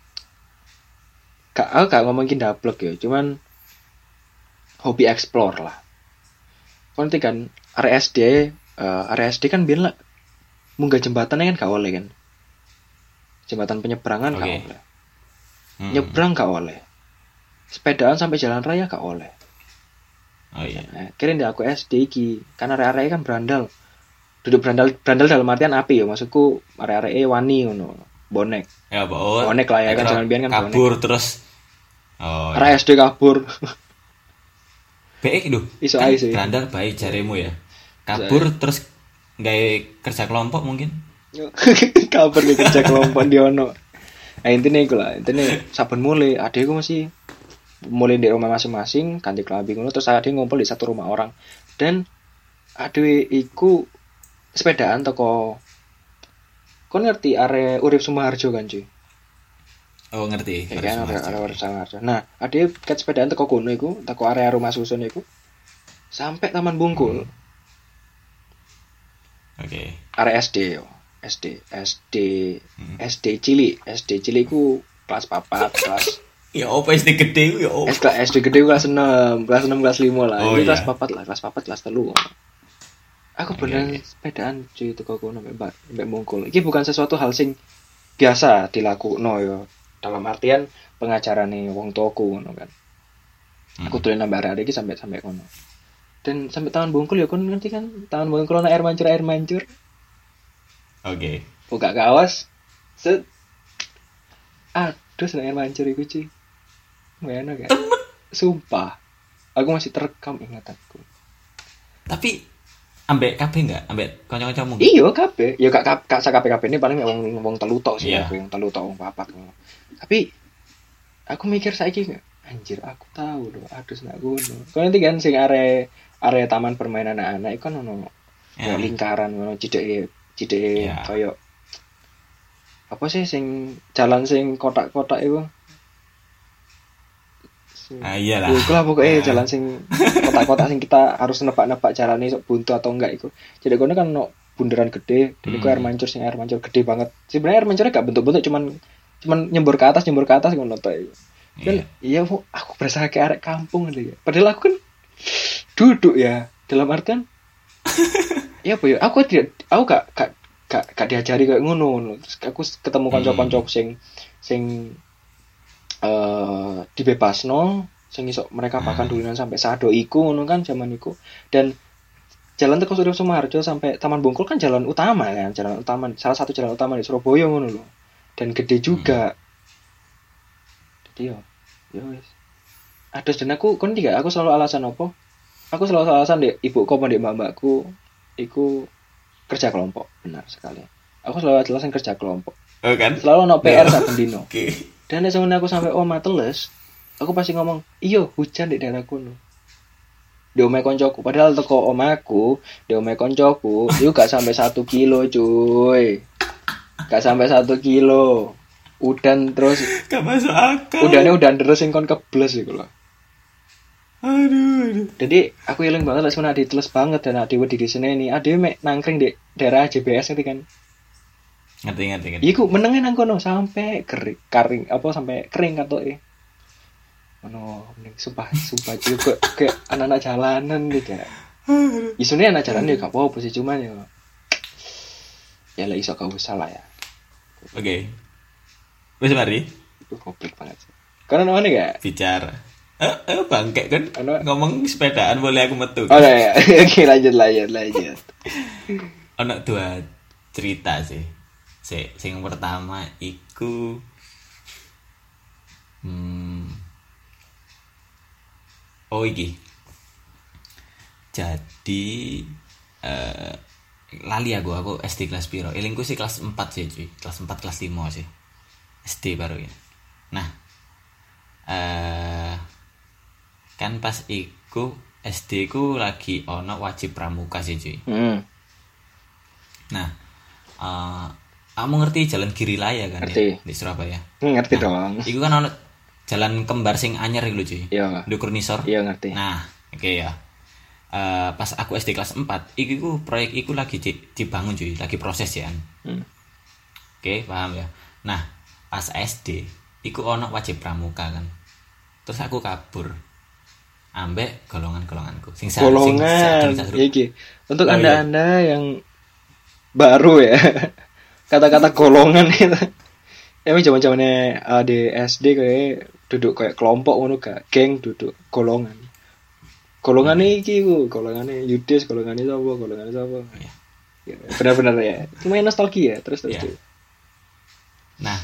aku gak ngomongin dablek ya, cuman hobi explore lah. Nanti kan area SD kan biar lah munggah jembatannya kan gak oleh kan, jembatan penyeberangan gak oleh, nyebrang gak oleh, sepedaan sampai jalan raya gak oleh. Oh iya. Nah, kira di aku SD iki kan area kan berandal, duduk berandal dalam artian api ya, maksudku area wani ngono, bonek. Ya bawa. Bonek lah ya kan, jangan biar kan kabur bonek. Terus. Oh. Area SD kabur. Baik lho. Iso ae sih. Berandal baik jaremu ya. Kabur terus gawe kerja kelompok mungkin. Kabur di kerja kelompok di ono. Nah intinya iku lah, intinya saben mulai adekku masih mulai di rumah masing-masing, ganti klambi ngono, terus adek ngumpul di satu rumah orang. Dan adek iku sepedaan toko. Kon ngerti are Urip Sumoharjo kan cuy? Oh ngerti. Ya kan are Urip Sumoharjo. Nah, adek ket sepedaan toko kono iku, toko area rumah susun iku sampai Taman Bungkul. Oke. Area SD yo. SD cilik ku kelas 4, kelas ya apa SD gede ya apa? SD gede kelas 6, kelas 5 lah. Oh, ini iya. kelas 4 lah, kelas 3. Aku beneran sepedaan cuy teko kono mbak Bungkul. Iki bukan sesuatu hal sing biasa dilakukno yo. Dalam artian pengajaran nih wong tuaku ngono kan. Aku dolen nambah arek iki sampai kono. Dan sampai Taman Bungkul ya kon ngerti kan, Taman Bungkul ana air mancur. Oke. Buka kaos. Set. Aduh, air mancur iku cuy. Mana kan? Sumpah. Aku masih terekam ingatanku. Tapi ambek kabeh enggak? Ambek kanca-kancamu? Iya, kabeh. Ya gak sak kabeh ini paling wong telu tok sih aku, yang telu tok wong papat. Tapi aku mikir saiki anjir aku tahu loh, aduh nek ngono. Kok nanti kan sing area taman permainan anak-anak iku kan ono lingkaran ngono cideke koyo apa sih sing jalan sing kotak-kotak itu? Iyalah. Iku lah pokoknya jalan sing kotak-kotak sing kita harus nebak-nebak jalannya sok buntu atau enggak itu. Jadi kono kan ono bundaran gede, dan iku air mancur gede banget. Sebenarnya air mancurnya gak bentuk-bentuk, cuman nyembur ke atas ngono to iku. Dan iya aku berasa kayak arek kampung gitu ya. Padahal aku kan duduk ya dalam artian ya apa ya? Aku gak diajari kayak ngono. Terus aku ketemu kanca-kanca sing dibebasno, sing iso mereka bahkan duluan sampai sado iku ngono kan zaman iku. Dan jalan teko Urip Sumoharjo sampai Taman Bungkul kan jalan utama kan, salah satu jalan utama di Surabaya ngono lho. Dan gede juga. Jadi yo wis. Aduh, dan aku selalu alasan apa? Aku selalu alasan dek ibuku apa dek mbakku iku kerja kelompok, benar sekali. Aku selalu alasan kerja kelompok. Oh kan? Selalu ono PR saben dino. Oke. Dan nek aku sampai omah teles, aku pasti ngomong, "Iyo, hujan di daerah kono." Di omahe koncoku, padahal teko omahku, di omahe koncoku, itu gak sampai 1 kilo, cuy. Gak sampai 1 kilo. Udan terus Gak masuk akal. udan terus sing kon kebles iku lho. Aduh. Jadi aku eling banget lek sebenarnya diteles banget dan adewe di sini ini adewe mek nangkring di daerah JBS ngerti kan. Ngerti. Iku menenge nang kono sampai kering sampai kering katoke. Ono sumpah juga kayak anak-anak jalanan nih kayak. Isune anak jalanan ya gak apa-apa sih cuman ya. Ya lah iso gak usah lah ya. Oke. Wis mari Itu goblok banget sih. Karena mana gak? bicara. Bangke kan Ano? ngomong sepedaan boleh aku metu. Oh ya. Oke lanjut. Ono dua cerita sih. Sing pertama iku oh iki. Jadi lali aku SD kelas piro? Elingku sih kelas 4 sih cuy. Kelas 4 kelas 5 sih. SD baru ya. Nah, kan pas iku SD ku lagi ono wajib pramuka sih cuy. Nah, kamu ngerti jalan Girilaya kan Ngerti. ya di Surabaya? Ngerti dong. Iku kan ono jalan kembar sing anyar iku lho cuy. Iya. Ndukur nisor. Iya ngerti. Nah, oke ya. Pas aku SD kelas 4, iku proyek iku lagi dibangun cuy, lagi proses ya. Oke, paham ya. Nah, pas SD iku ono wajib pramuka kan. Terus aku kabur ambek golongan-golonganku. Golongan. Iki. Untuk Anda yang baru ya. Kata-kata golongan itu. Emang zaman-zamannya di SD kayak duduk kayak kelompok ngono gak? Geng duduk golongan. Golongannya iki ku, golongannya Yudes, golongannya sapa? Ya, benar-benar ya. Cuma nostalgia terus. Ya. Nah,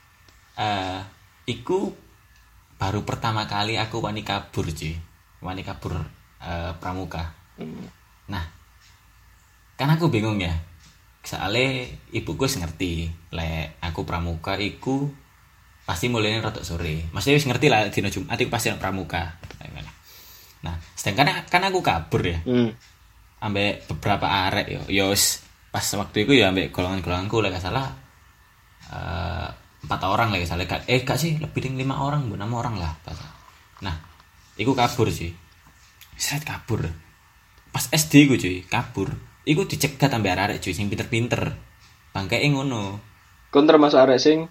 iku baru pertama kali aku wani kabur cuy. Wani kabur pramuka. Nah, kan aku bingung ya. Soalnya ibuku wis ngerti lek aku pramuka iku pasti mulainya rotok sore. Maksudnya wis ngerti lah dina Jumat iku pasti pramuka. Nah, sedangkan kan aku kabur ya. Ambek beberapa arek yo wis pas waktu itu ya ambek golongan-golonganku lek gak salah 4 orang lagi salah gak sih lebih dari 5 orang 6 orang lah pas. Nah iku kabur cuy seret kabur pas SD ku cuy kabur iku dicegat ambek arek cuy sing pinter-pinter bangkeke ngono kon termasuk arek sing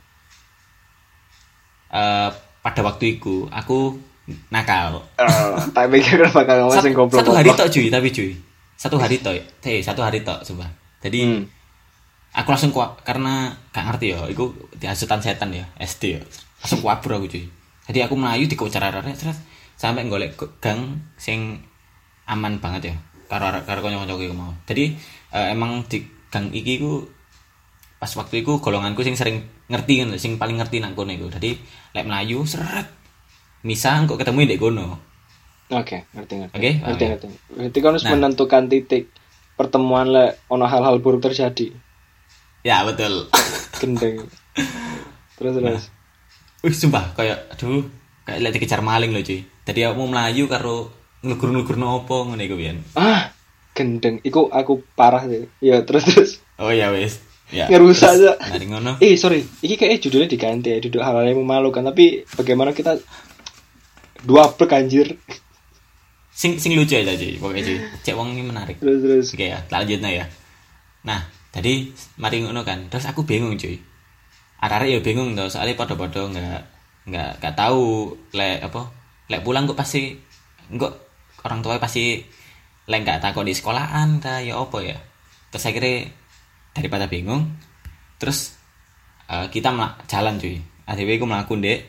pada waktu itu aku nakal tak pikir bakal ngomong sing goblok satu hari tok cuy tapi cuy satu hari tok sumpah jadi aku langsung karena gak ngerti ya, iku dihasutan setan ya, SD ya. Langsung kabur aku cuy. Jadi aku melayu di arek terus sampai golek gang sing aman banget ya. Karo kanca-kancaku iku mau. Jadi emang di gang iki ku pas waktu itu golonganku sing sering ngerti kan, sing paling ngerti nang kono iku. Jadi lek melayu seret misah kok ketemu ndek kono. Oke, ngerti. Oke. Berarti kan harus menentukan titik pertemuan lek ono hal-hal buruk terjadi. Ya betul. Gendeng. Terus. Sumpah kayak lek dikejar maling loh cuy. Tadi aku mau melayu karo nglugur-nglugur nopo ngene iku pian. Gendeng. Iku aku parah sih. Ya terus. Oh ya wis. Ya. Ngerusak aja. Mari ngono. Sorry. Iki kayaknya judulnya diganti ya. Duduk hal-hal yang memalukan. Tapi bagaimana kita dua plek anjir. Sing lucu aja cuy. Pokoknya cuy. Cek wong ini menarik. Terus. Oke ya, lanjutnya ya. Nah, tadi mari ngono kan. Terus aku bingung cuy. Arek-arek ya bingung tau, soalnya padha-padha enggak tahu lek pulang kok pasti enggak orang tua pasti lek enggak takut di sekolahan ta ya apa ya. Terus akhirnya daripada bingung terus kita jalan cuy. ADW ku mlaku ndek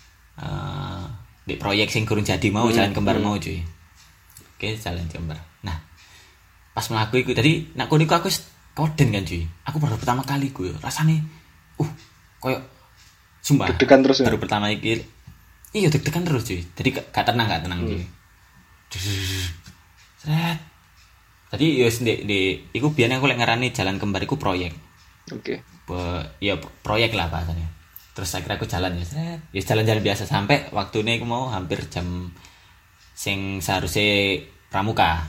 proyek sing kurang jadi mau jalan kembar mau cuy. Oke, jalan kembar. Nah, pas mlaku iku tadi nak niku aku koden kan cuy. Aku baru pertama kali gue rasane koyo sumpah deg-degan terus baru pertama iki. Iya deg-degan terus cuy. Jadi gak tenang cuy. Seret. Tadi yo di iku biyen aku lek ngarani jalan kembar iku proyek. Oke. Ya proyek lah bahasanya. Terus akhirnya aku jalan ya seret. Ya jalan-jalan biasa sampai waktune aku mau hampir jam sing seharusnya pramuka.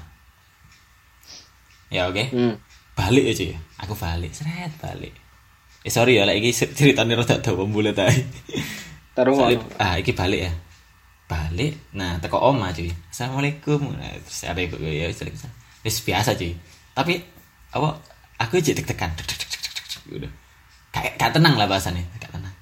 Ya oke. Balik aja ya. Aku balik, balik. Sorry ya, iki ceritane rada dawa bulet ae. Taruh iki balik ya. Balik. Nah, teko oma cuy. Assalamualaikum. Nah, terus ada ibu ya wis biasa cuy. Tapi aku aja deg-degan. Udah. Kayak tenang lah bahasane, gak tenang.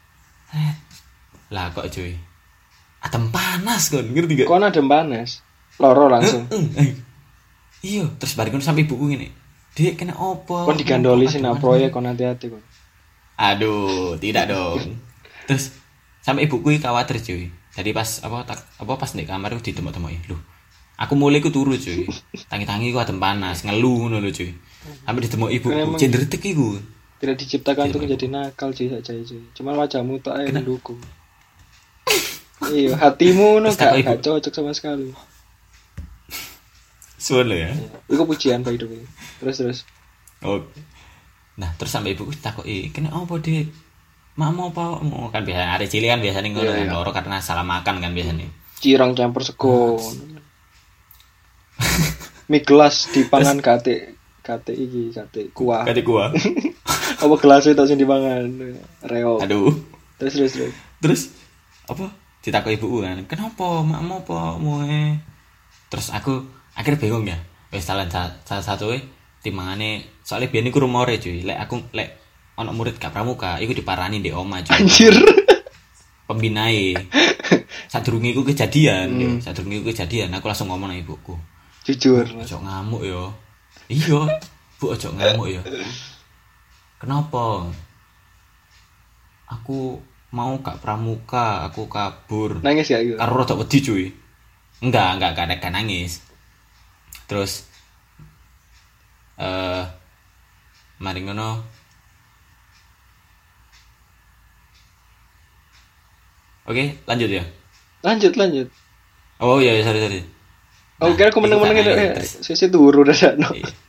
Lah kok cuy. Adem panas kon, ngerti gak? Kon adem panas. Loro langsung. Iya, terus bariku sampai ibuku ngene. Dek kena opo? Kon digandoli sing proyek kon hati-hati kon. Aduh, tidak dong. Terus sampai ibuku khawatir cuy. Jadi pas pas di kamar itu ditemuk-temuk lho. Aku mulai ku turu cuy. Tangi-tangi ku adem panas, ngeluh ngono lho cuy. Sampai ditemuk ibuku, jendretek iku. Tidak diciptakan untuk menjadi nakal cuy saja cuy. Cuma wajahmu tok ae mendukung. Iya, hatimu no gak cocok sama sekali. Suwe ya. Iku pujian by the way. Terus. Oh. Nah, terus sampai ibuku takoki, "Kena opo, Dik? Makmu apa?" Kan biasa arek cilik kan biasane ngono kan loro karena salah makan kan biasane. Cirang campur sego. Mie gelas dipangan kate kuah. Kate kuah. Apa gelas itu sing dipangan? Reok. Aduh. Terus apa? Ditakoki ibuku kan, "Kenapa? Makmu apa moe?" Terus aku akhirnya bingung ya. Wis salah satu timbangane soalnya biyen iku rumore cuy. Lek ana murid gak pramuka, iku diparani ndek oma cuy. Anjir. Pembinae. Sadurunge iku kejadian, aku langsung ngomong nang ibuku. Jujur, ojo ngamuk ya. Iya, Bu ojo ngamuk ya. Kenapa? Aku mau gak pramuka, aku kabur. Nangis gak gitu? Karo rada wedi cuy. Enggak nangis. Terus mari ngono. Oke, lanjut ya. Lanjut. Oh iya, sorry. Oh, kira aku meneng-meneng sisi turu dasarno.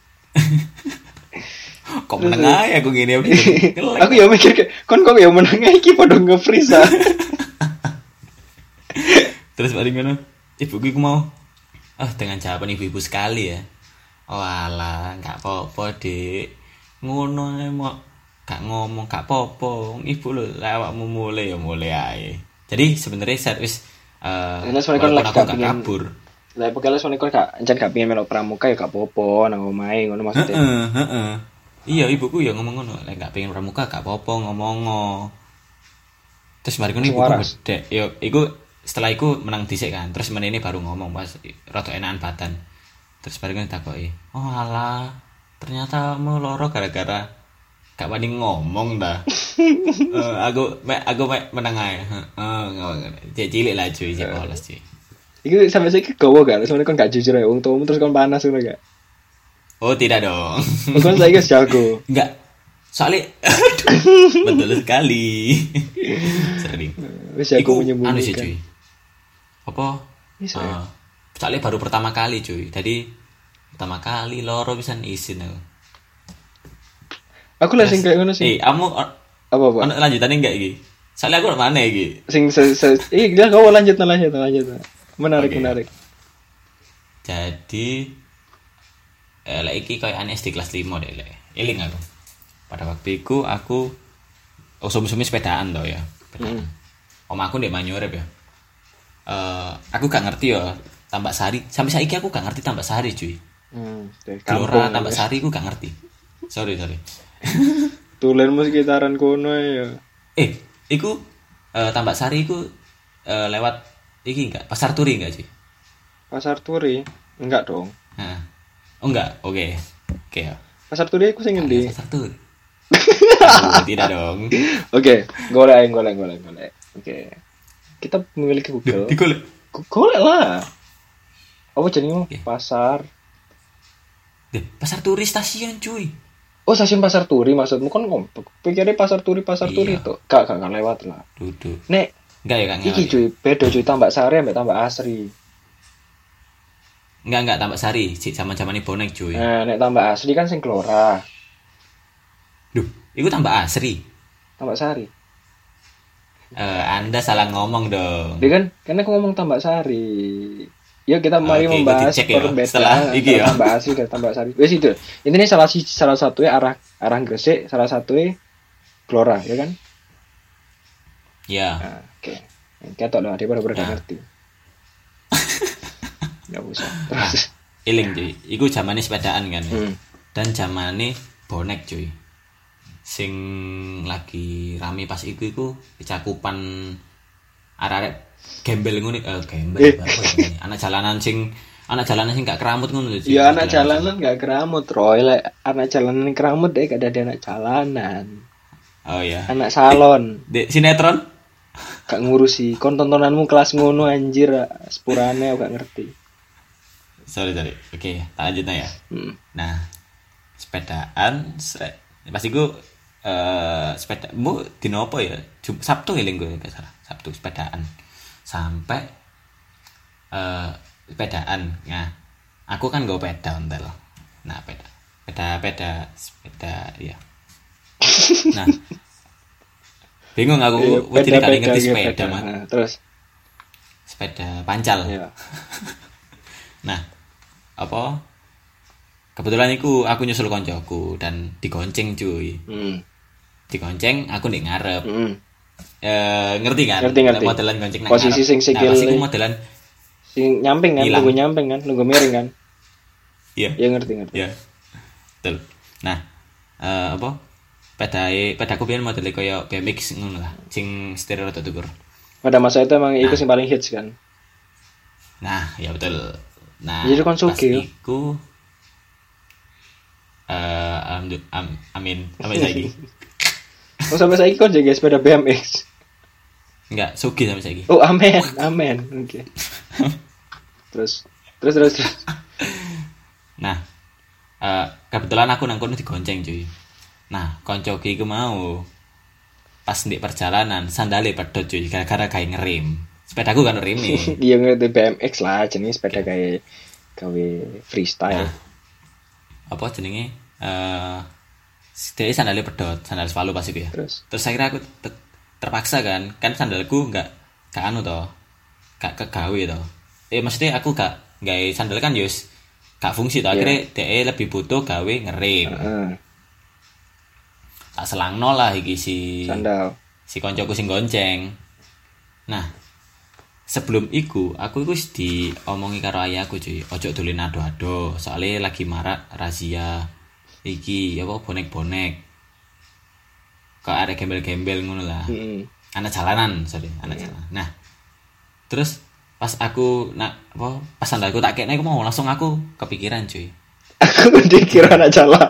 Kok meneng ae aku gini. Aku ya mikir kon kok ya meneng iki padha nge-freeze. Terus mari ngono. Ibuku iku mau dengan jawaban ibu-ibu sekali ya. Oh alah, gak apa-apa, Dik. Ngono ae mok gak ngomong gak apa-apa. Ibu lho awakmu mulai ae. Jadi sebenarnya servis aku gak kabur. Lah pokoknya soalnya kon gak pengen melok pramuka ya gak apa-apa nang omahe ngono maksudnya. Heeh. Iya, ibuku ya ngomong ngono, lek gak pengen pramuka gak apa-apa ngomong. Terus mari ngono ibuku bedek. Yo iku setelah iku menang dhisik kan. Terus menene baru ngomong pas rada enakan badan. Terus mari ngono takoki, "Oh alah, ternyata mau loro gara-gara gak wani ngomong dah." Aku menang ae. Cek cilik lah cuy, cek polos cuy. Iku sampe saiki gowo gak? Soalnya kon gak jujur ya wong tuamu terus kon panas ngono gak? Oh, tidak dong. Kon saiki wis jago. Enggak. Soalnya betul sekali. Sering. Wis jago menyembunyikan. Anu sih cuy. Apa? Soalnya baru pertama kali cuy. Jadi pertama kali loro bisa izin aku. Aku lah sing kayak ngono sih. Kamu apa? Ono lanjutane enggak iki? Soalnya aku mana iki? Dia kau lanjut. Menarik. Jadi lek iki koyo ane SD kelas 5 deh lek. Eling aku. Pada waktu itu aku usum-usumi sepedaan toh ya. Om aku ndek Manyurep ya. Aku gak ngerti ya Tambak Sari. Sampai saiki aku gak ngerti Tambak Sari cuy. Gelora Tambak Sari aku gak ngerti. Sorry. Tulenmu sekitaran kono ya. Iku Tambak Sari iku lewat iki enggak? Pasar Turi enggak sih? Pasar Turi? Enggak dong. Nah. Oh enggak. Oke ya. Pasar Turi aku sing ngendi? Pasar Turi. Tidak dong. Oke, golek. Oke. Kita memiliki Google. Golek lah. Apa jenenge? Pasar. Pasar Turi stasiun cuy. Oh, stasiun Pasar Turi maksudmu kan pikirnya Pasar Turi itu. Gak lewat lah. Duduk. Nek enggak ya kan. Iki cuy, beda cuy Tambak Sari ambek Tambak Asri. Enggak Tambak Sari, zaman-zaman ini bonek cuy. Nah, nek Tambak Asri kan sing Gelora. Duh, itu Tambak Asri. Tambak Sari. Anda salah ngomong dong. Dia kan aku ngomong Tambak Sari. Yuk kita mari membahas perbedaan ya. Tambak Asri dan Tambak Sari. Wes itu. Ini salah satunya arah Gresik, salah satunya Gelora, ya kan? Ya. Nah, oke. Ketok lah dia baru gak ngerti. Enggak usah. Terus iling cuy. Iku zamane sepedaan kan. Dan zamane bonek cuy. Sing lagi rame pas iku cakupan arek gembel ngene gembel apa ini. Anak jalanan sing Anak jalanan sing gak keramut ngono lho. Ya anak jalanan gak keramut, Roy. Lek anak jalanan keramut deh gak ada anak jalanan. Oh iya. Anak salon. Dek sinetron? Gak ngurusi. Kon tontonanmu kelas ngono anjir, sepurane aku gak ngerti. Sorry. Oke, tak lanjut ya. Nah, sepedaan pasti gue sepeda bu dino apa ya? Sabtu ya gue gak salah. Sabtu sepedaan. Sampai sepedaan. Nah, aku kan gue peda ontel. Nah, sepeda ya. Nah, bingung aku jadi kali ngerti sepeda mah. Nah, terus sepeda pancal. Iya. Nah, apa? Kebetulan aku nyusul koncoku dan digonceng cuy. Digonceng aku ndek ngarep. Ngerti kan? Ngerti. Modelan gonceng nang posisi ngarep. sing sikil. Nah, pas modelan sing nyamping kan, nunggu nyamping kan, nunggu miring kan. Iya. Ya ngerti. Iya. Betul. Nah, apa? Pedaku biyen modele kaya BMX ngono lah, sing stereo rada dhuwur. Pada masa itu emang iku sing paling hits kan. Nah, ya betul. Nah, jadi kon sugih. Iku amin sampai saiki. Oh sampai saiki kon jaga sepeda BMX. Enggak, sugih sampai saiki. Oh, amin. Oke. Terus. Nah, kebetulan aku nang kono digonceng cuy. Nah, koncoku iku mau pas ndek perjalanan sandale pedot cuy gara-gara gawe ngerem. Sepedaku kan ngerem nih. Iya ngerti BMX lah, jenis sepeda gawe freestyle. Nah, apa jenenge? Dari sandalnya pedot, sandal Svalu pas itu ya. Terus akhirnya aku terpaksa kan sandalku gak anu toh, gak kegawe toh. Maksudnya aku gak sandal kan yus gak fungsi toh. Akhirnya DE lebih butuh gawe ngerem. Tak selangno lah iki sandal. Si koncoku sing gonceng. Nah, sebelum iku aku wis diomongi karo ayahku cuy, ojo dolen ado-ado, soalnya lagi marak razia iki apa bonek-bonek. Kok ada gembel-gembel ngono lah. Anak jalanan. Nah, terus pas aku pas sandalku tak kene aku mau langsung aku kepikiran cuy. Aku dikira anak jalan.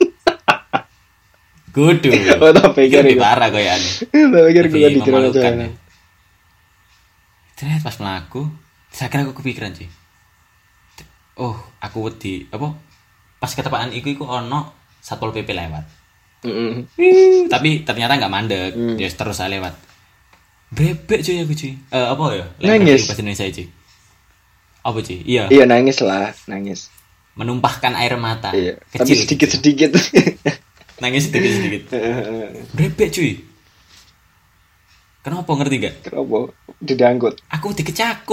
Kudu. Oh, tak pikir iki parah koyane. Tak pikir gue dikira anak jalan. Terus pas mlaku, saya aku kepikiran cuy. Oh, aku wedi apa? Pas ketepaan iku ono Satpol PP lewat. Tapi ternyata enggak mandek, ya terus lewat. Bebek cuy aku cuy. Apa ya? Nangis bahasa Indonesia cuy. Apa cuy? Iya. Iya nangis. Menumpahkan air mata. Iya. Kecil. Tapi sedikit. Nangis sedikit. Bebek cuy. Kenapa ngerti gak? Kenapa? Didanggut. Aku dikecakup.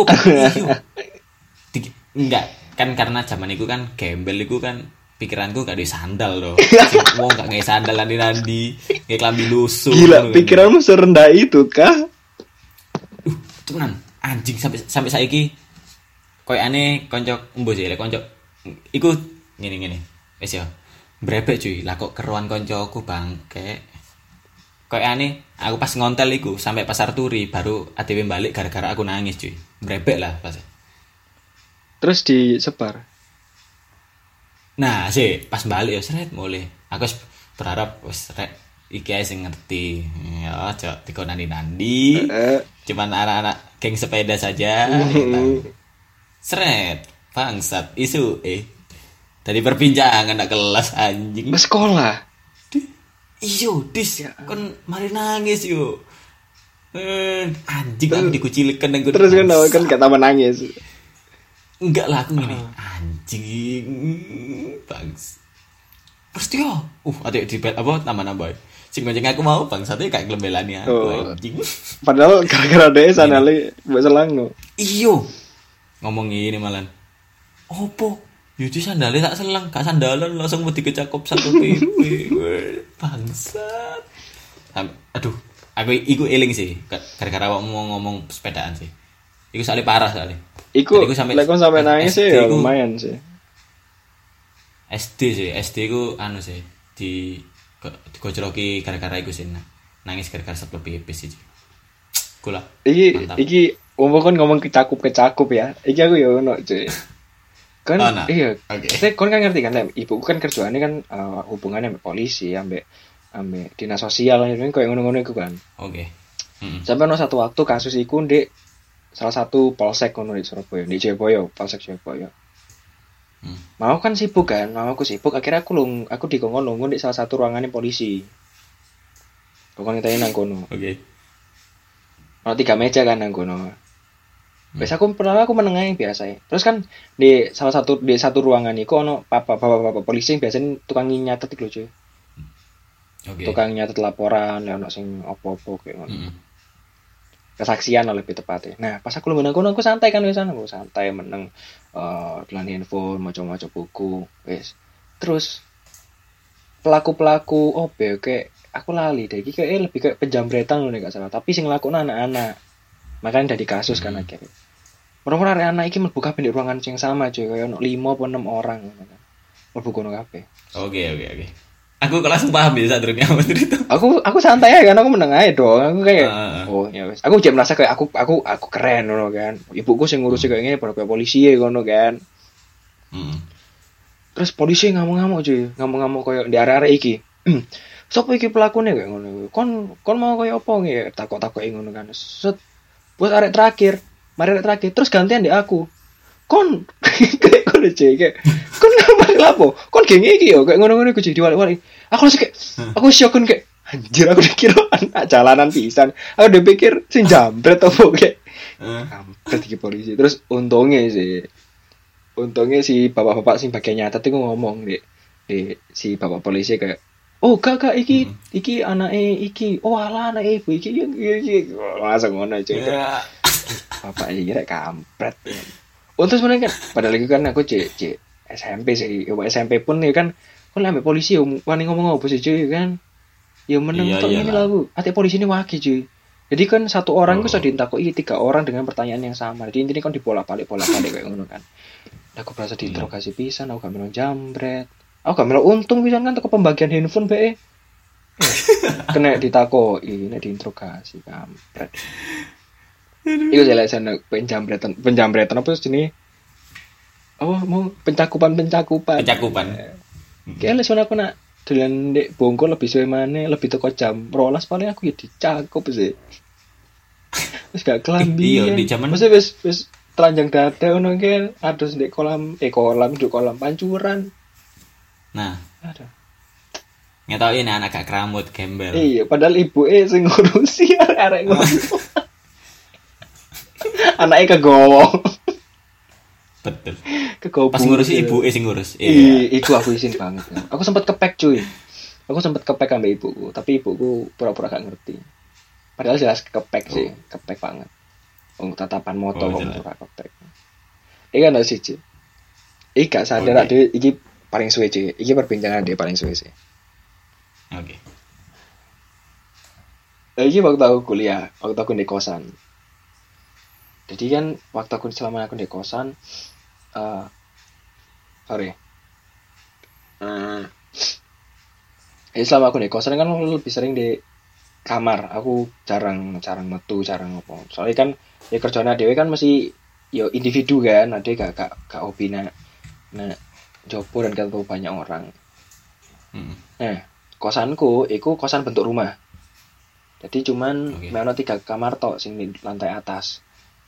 Enggak, kan karena zaman itu kan gembel itu kan pikiranku gak ada sandal loh. Wong gak nggae sandal nandi, nggae klambi lusuh. Gila, pikiranmu serendah itu kah? Tenan, anjing sampai saiki koyo aneh konco mbok sih, konco iku ngene. Wis ya. Brebek cuy, lah kok keruan koncoku bangke. Koyo aneh, aku pas ngontel iku sampai pasar Turi baru ATW balik gara-gara aku nangis cuy. Brebek lah pas. Terus disebar. Nah, sih pas balik ya seret mulai. Aku berharap wis rek iki ae sing ngerti. Ya, aja dikonani-nandi. Cuman anak-anak geng sepeda saja. Seret, bangsat isu dari perbincangan anak kelas anjing. Mas sekolah. Iyo, dis ya. Kon mari nangis yo. Anjing aku dikucilkan nang. Terus kan gak tambah nangis. Enggak lah aku gini. Anjing. Bangs. Pasti yo. Ada di apa nambah. Sing gonceng aku mau bangsate kayak glembelane aku anjing. Padahal gara-gara dhek sanale mbok selangno. Iyo. Ngomong ini malan. Opo? Yuji sandale tak selang, gak sandalan langsung mau dikecakup satu PP. Bangsat. Aduh, aku iku eling sih. Gara-gara awakmu mau ngomong sepedaan sih. Iku soalnya parah soalnya. Iku sampai nangis sih ya lumayan sih. SD ku anu sih digojloki gara-gara iku sih. Nangis gara-gara Satpol PP sih. Kula. Iki kan ngomong kecakup ya. Iki aku ya ono cuy. Kan Oh, nah. iya. Oke. Saya kon kan ngerti kan, ibuku kan kerjaannya kan hubungannya sama polisi, ambek dinas sosial kan koyo ngono-ngono iku kan. Oke. Mm-mm. Sampai ono satu waktu kasus iku ndek salah satu polsek ngono di Surabaya, di Jayapura, polsek Jayapura. Mau kan sibuk kan, mau aku sibuk, akhirnya aku dikongkon nunggu di salah satu ruangannya polisi. Kongkon kita nang kono. Oke. Ono 3 meja kan nang kono. Wes aku menengah yang biasa ya. Terus kan di satu ruangan iku ono bapak polisi yang biasanya tukang nyatet iku lho, cuy. Oke. Tukang nyatet laporan, ono sing opo-opo kayak ngono. Mm-mm. Kesaksian lebih tepatnya. Nah, pas aku menang kono aku santai kan wis aku santai meneng dolan handphone, maca-maca buku, wis. Terus pelaku-pelaku kayak aku lali deh iki kayak lebih kayak penjambretan loh nek gak salah, tapi sing nglakoni anak-anak. Makanya dari kasus kan akhirnya. Orang-orang anak iki mlebu kabeh di ruangan sing sama cuy, kayak ono 5 apa 6 orang ngono kan. Mlebu kono kabeh. Oke. Aku kok langsung paham ya saat durungnya apa cerita. Aku santai aja kan, aku meneng aja dong. Aku kayak Oh, ya wis. Aku jadi merasa kayak aku keren ngono kan. Ibuku sing ngurusi kayak ngene pada kayak polisi ya ngono kan. Terus polisi ngamuk-ngamuk cuy, ngamuk-ngamuk kayak di area-area iki. Sopo iki pelakune kayak ngono. Kon mau kayak apa nggih? Takok-takok ngono kan. Set. Buat arek terakhir, terus gantian di aku. Kon kayak ngono cuy, kayak kon ngapa lapo? Kon geng iki yo kayak ngono-ngono iku cuy diwali-wali. Aku langsung kayak aku syok kan kayak anjir, aku dikira anak jalanan pisan. Aku udah pikir sing jambret apa kayak. Jambret iki polisi. Terus untungnya si bapak-bapak sing bagian nyatet itu ngomong di si bapak polisi kayak, oh kakak iki anake iki, oh alah anake ibu iki langsung ngono cuy. Bapak iki rek kampret. Untung sebenarnya kan padahal lagi kan aku cek SMP sih, SMP pun ya kan ambek polisi wani ngomong apa sih cuy kan. Ya meneng tok ini lah aku. Ate polisi ini waki cuy. Jadi kan satu orang ku sudah ditakoki 3 orang dengan pertanyaan yang sama. Jadi intinya kan dibolak-balik kayak ngono kan. Aku berasa diinterogasi pisan, aku gak melo jambret. Aku gak melo untung pisan kan teko pembagian handphone bae. Kena ditakoki, nek diinterogasi kampret. Iku jelasan penjambretan apa jenenge? Oh, mau pencakupan. Kayaknya soalnya aku nak dolan ndek Bongko lebih suwe maneh, lebih teko jam 12 paling aku ya dicakup sih. Wis gak kelambi. Iya, di zaman wis telanjang dada ngono kan, adus ndek kolam pancuran. Nah, aduh. Ngetokin anak gak keramut gembel. Iya, padahal ibuke sing ngurusi arek ngono. Anaknya kegowo. Betul. Kegowo. Pas ngurusi ibuke sing ngurus. Iya, iku aku izin banget. Aku sempat kepek cuy. Aku sempat kepek sama ibuku, tapi ibuku pura-pura gak ngerti. Padahal jelas kepek sih, kepek banget. Tatapan moto pura kepek. Iki kan siji. Iki gak sadar dhewe iki paling suwe cuy. Iki perbincangan dhewe paling suwe sih. Oke. Iki waktu aku kuliah, waktu aku di kosan. Jadi kan waktu aku selama aku di kosan, selama aku di kosan kan lebih sering di kamar. Aku jarang metu, jarang apa. Soalnya kan ya kerjaan dhewe kan masih yo individu kan, ade gak hobi nah jopo dan ketemu banyak orang. Nah, kosanku iku kosan bentuk rumah. Jadi cuman ono 3 kamar tok sing di lantai atas.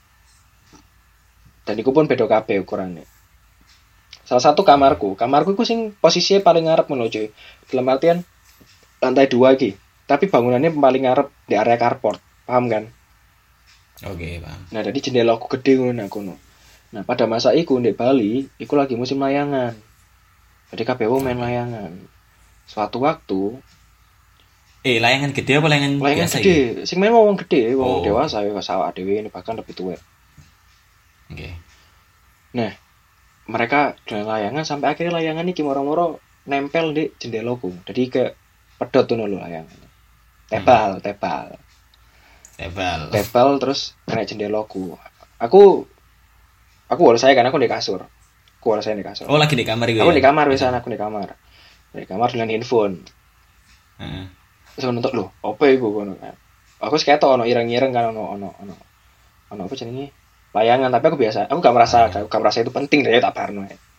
Dan iku pun beda kabeh ukurannya. Salah satu kamarku iku sing posisinya paling ngarep ngono cuy. Dalam artian lantai 2 iki. Tapi bangunannya paling ngarep di area carport. Paham kan? Oke, paham. Nah, jadi jendela aku gede ngono. Nah, pada masa iku di Bali, iku lagi musim layangan. Jadi kabeh wong main layangan. Suatu waktu layangan gede apa layangan biasa gede. Sing main wong gede, wong dewasa ya sawah dhewe ini bahkan lebih tua. Oke. Nah, mereka dengan layangan sampai akhirnya layangan ini moro-moro nempel di jendelaku. Jadi ke pedot tuh lho layangan. Tebal terus kena jendelaku. Aku harus saya kan aku di kasur. Oh, lagi di kamar itu. Aku di kamar wis aku di kamar. Di kamar dengan handphone. Heeh. Terus nonton lho, apa iku ngono kan. Aku ketok ono ireng-ireng kan ono apa jenenge? Layangan, tapi aku gak merasa itu penting deh tak barno.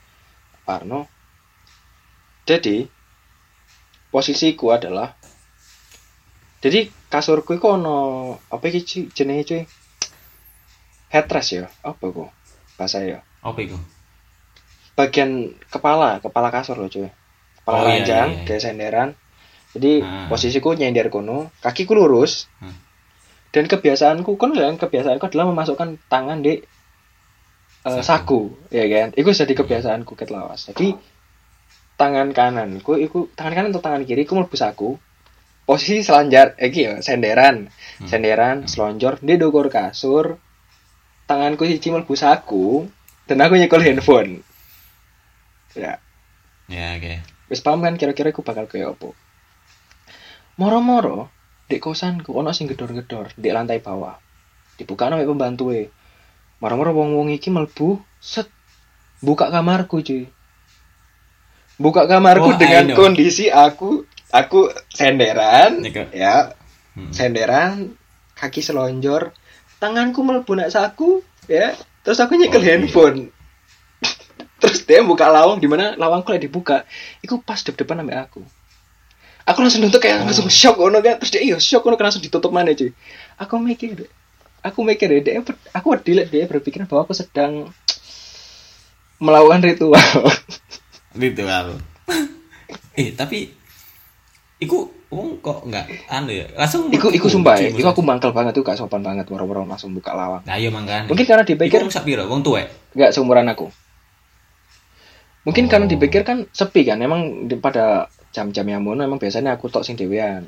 Parno. Jadi posisiku adalah, jadi kasurku iku ono apa iki jenenge cuy? Headrest ya, apa kok bahasa ya? Apa iku? Bagian kepala kasur loh cuy. Kepala ranjang, kayak senderan. Jadi posisiku nyender kono, kakiku lurus. Dan kebiasaanku adalah memasukkan tangan di saku, ya kan? Iku jadi kebiasaanku ket lawas. Jadi tangan kanan atau tangan kiri ku mlebu saku. Posisi selanjar iki ya, senderan, selonjor di dogor kasur. Tanganku siji mlebu saku dan aku nyekel handphone. Ya. Ya, oke. Wis paham kan kira-kira aku bakal kayak apa. Moro-moro di kosanku ono sing gedor-gedor di lantai bawah. Dibuka nang pembantuwe. Moro-moro wong-wong iki mlebu, set buka kamarku, cuy. Buka kamarku dengan kondisi aku senderan, ya. Senderan, kaki selonjor, tanganku mlebu nak saku, ya. Terus aku nyekel handphone. Terus dia buka lawang, di mana lawangku lagi dibuka. Iku pas depan sama aku. Aku langsung nutup kayak langsung shock ono kan. Terus dia shock ono langsung ditutup mana cuy. Aku mikir dia aku dia berpikir bahwa aku sedang melakukan ritual. Tapi iku wong kok enggak ya. Langsung iku sumpah ya. Iku aku mangkel banget tuh, gak sopan banget waro-waro langsung buka lawang. Nah, iya mangkane. Mungkin karena dipikir wong sak piro? Wong tuwek. Enggak seumuran aku. Mungkin karena dipikir kan sepi kan. Emang pada jam-jam yang mono emang biasanya aku tok sing dhewean.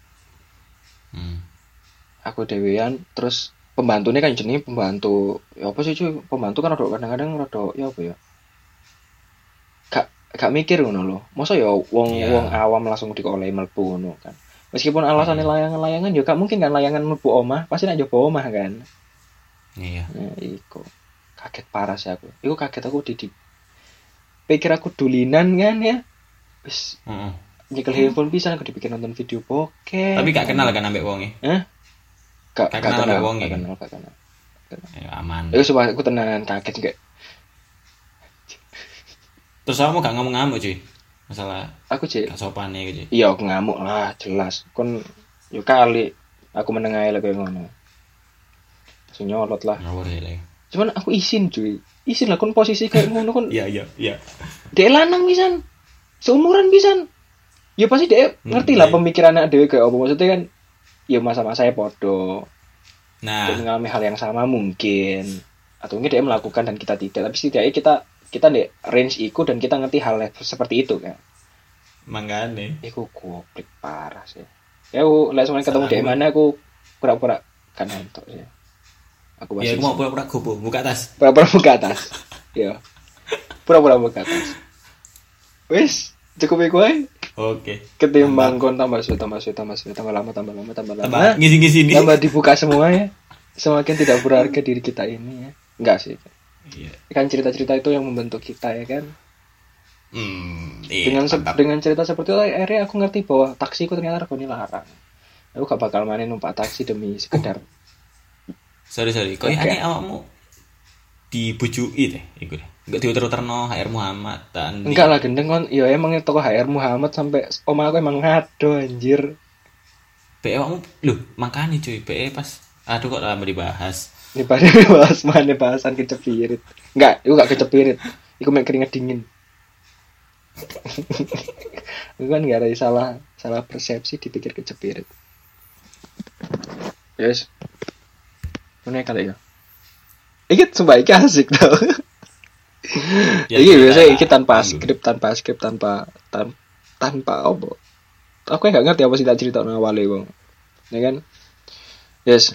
Aku dhewean, terus pembantunya kan jenenge pembantu. Ya apa sih cuy? Pembantu kan kadang-kadang rada ya apa ya? Gak mikir ngono lho. Masa ya wong awam langsung dikolehi mlebu ngono kan. Meskipun alasannya layangan-layangan ya gak mungkin kan layangan mlebu omah, pasti nek njobo omah kan. Iya. Nah, iku. Kaget parah sih aku. Iku kaget aku pikir aku dulinan kan ya. Wis. Nyekel handphone pisan aku dipikir nonton video bokeh. Tapi gak kenal kan ambek wonge? Gak kenal ambek wonge. Gak kenal. Ya aman. Iku sumpah aku tenan kaget gak. Terus kamu gak ngamuk-ngamuk cuy? Masalah aku cek gak sopan ya cuy. Iya aku ngamuk lah jelas. Kon yo kali aku menengahi lagi ngono. Langsung nyolot lah. Cuman aku izin cuy. Izin lah kon posisi kayak ngono kon. Iya. Dek lanang pisan. Seumuran pisan. Ya pasti dek ngerti lah pemikiran anak dhewe kayak apa, maksudnya kan ya masa-masa saya podo. Nah, dia mengalami hal yang sama mungkin. Atau mungkin dia melakukan dan kita tidak. Tapi setidaknya kita di range iku dan kita ngerti hal seperti itu kan. Mangane. Iku goblok parah sih. Ya aku lek sampeyan ketemu di mana aku pura-pura kan entuk sih. Aku masih. Ya aku mau pura-pura gobo buka tas. Pura-pura buka tas. Iya. Pura-pura buka tas. Wis, cukup iku ae. Oke. Ketimbang kon tambah lama. Ngisi-ngisi. Tambah dibuka semua ya. Semakin tidak berharga diri kita ini ya. Enggak sih. Iya. Kan cerita-cerita itu yang membentuk kita ya kan. Iya, dengan cerita seperti itu akhirnya aku ngerti bahwa taksiku ternyata regane larang. Aku gak bakal main numpak taksi demi sekedar. Sorry. Kok aneh awakmu dibujui deh iku deh. Enggak diuter-uterno HR Muhammad dan enggak lah gendeng kon. Ya emang toko HR Muhammad sampai omah aku emang ngado anjir. PE awakmu lho, makane cuy, PE pas aduh kok lama dibahas. Ini pada bahasan kecepirit. Enggak, itu gak kecepirit. Iku mek keringet dingin. Itu kan gak ada salah persepsi dipikir kecepirit. Yes. Mana kali ya? Iki sumpah iki asik tau. Ya, iki biasa iki tanpa skrip tanpa apa. Aku gak ngerti apa sih tak cerita nang awale wong. Ya kan? Yes,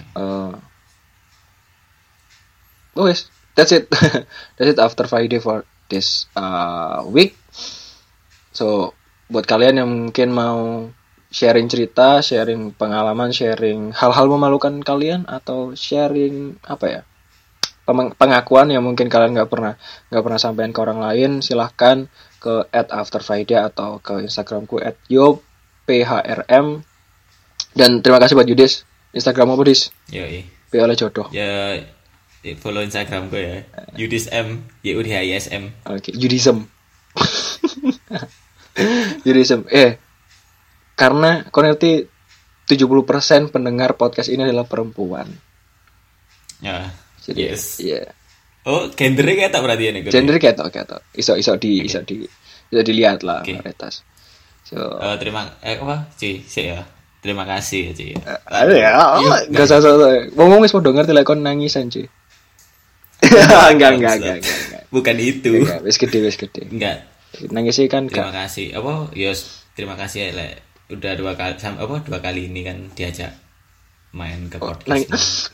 yes, that's it. That's it after Friday for this week. So, buat kalian yang mungkin mau sharing cerita, sharing pengalaman, sharing hal-hal memalukan kalian atau sharing apa ya? Pengakuan yang mungkin kalian nggak pernah sampaikan ke orang lain, silahkan ke @afterfriday atau ke Instagramku @yophrm. Dan terima kasih buat Yudis. Instagram apa Dis? Yoi. P oleh jodoh. Ya follow Instagram gue ya. Yudis M, YUDHISM. Oke, Yudism. Jadi karena kau ngerti 70% pendengar podcast ini adalah perempuan. Ya. Jadi Yes. iya. Oh, gendernya kayak tak berarti ya nih. Gender ketok. Iso dilihat lah Oke. varietas. So, Terima apa? Ci, sih ya. Terima kasih ya, Ci. ada ya, enggak usah. Ngomong wis padha ngerti lek kon nangisan, cuy. Enggak. Bukan itu. Enggak, wis gede. Enggak. Nangis sih kan Terima enggak. kasih. Apa? Yos, terima kasih ya, Lek. Udah 2 kali ini kan diajak main ke podcast. Nangis.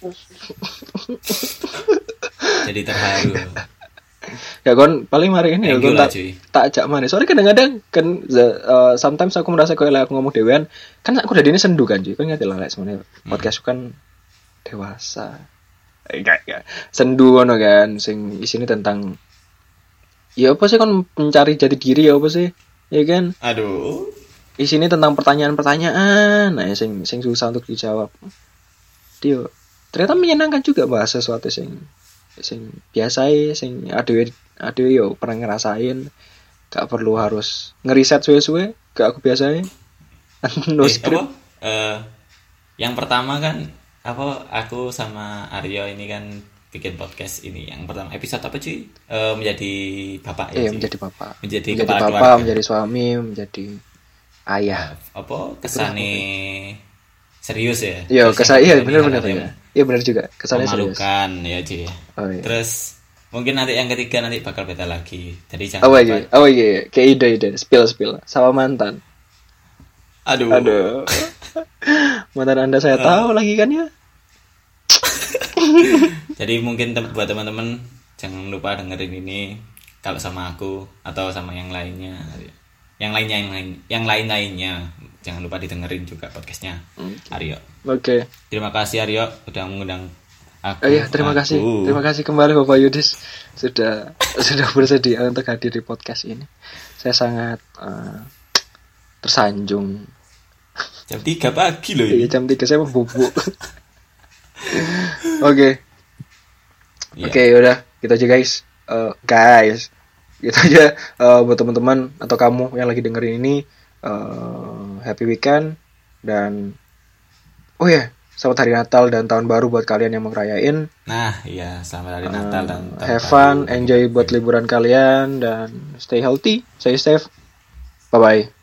Jadi terharu. Ya kon paling mari ini Thank kon you lah, cuy. tak ajak mana. Soalnya kadang-kadang kan sometimes aku merasa kayak aku ngomong dewean, kan aku udah ini sendu kan, cuy. Kan ngerti lah lek sebenarnya podcast kan dewasa. Enggak. Sendu ngono kan sing isine tentang ya apa sih kon mencari jati diri ya apa sih? Ya kan? Aduh. Isinya tentang pertanyaan-pertanyaan, nah sing susah untuk dijawab. Dia ternyata menyenangkan juga bahas sesuatu sing biasa sing adewe yo pernah ngerasain, gak perlu harus ngeriset suwe-suwe, gak aku biasain. No script. Yang pertama kan aku sama Aryo ini kan bikin podcast ini. Yang pertama episode apa cuy? Menjadi bapak ya. Menjadi bapak. Menjadi bapak, keluarga. menjadi suami, menjadi ayah. Kesannya serius ya? Iya, kesannya benar. Iya benar juga. Kesannya serius. Memalukan ya cuy. Oh, iya. Terus mungkin nanti yang ketiga nanti bakal beda lagi. Jadi jangan Kayak ide spill sama mantan. Aduh. Mantan Anda saya tahu lagi kan ya. Jadi mungkin buat teman-teman jangan lupa dengerin ini kalau sama aku atau sama yang lainnya. Yang lainnya jangan lupa didengerin juga podcastnya Aryo. Oke. Terima kasih Aryo udah mengundang aku. Terima kasih kembali Bapak Yudis sudah bersedia untuk hadir di podcast ini. Saya sangat tersanjung. Jam 3 pagi loh ini. Iya, jam 3 saya mau bubuk. Oke, udah gitu aja guys. Gitu aja buat teman-teman atau kamu yang lagi dengerin ini, happy weekend dan selamat hari Natal dan tahun baru buat kalian yang mau ngerayain. Nah, iya, selamat hari Natal dan tahun have fun, enjoy buat liburan kalian dan stay healthy, stay safe. Bye bye.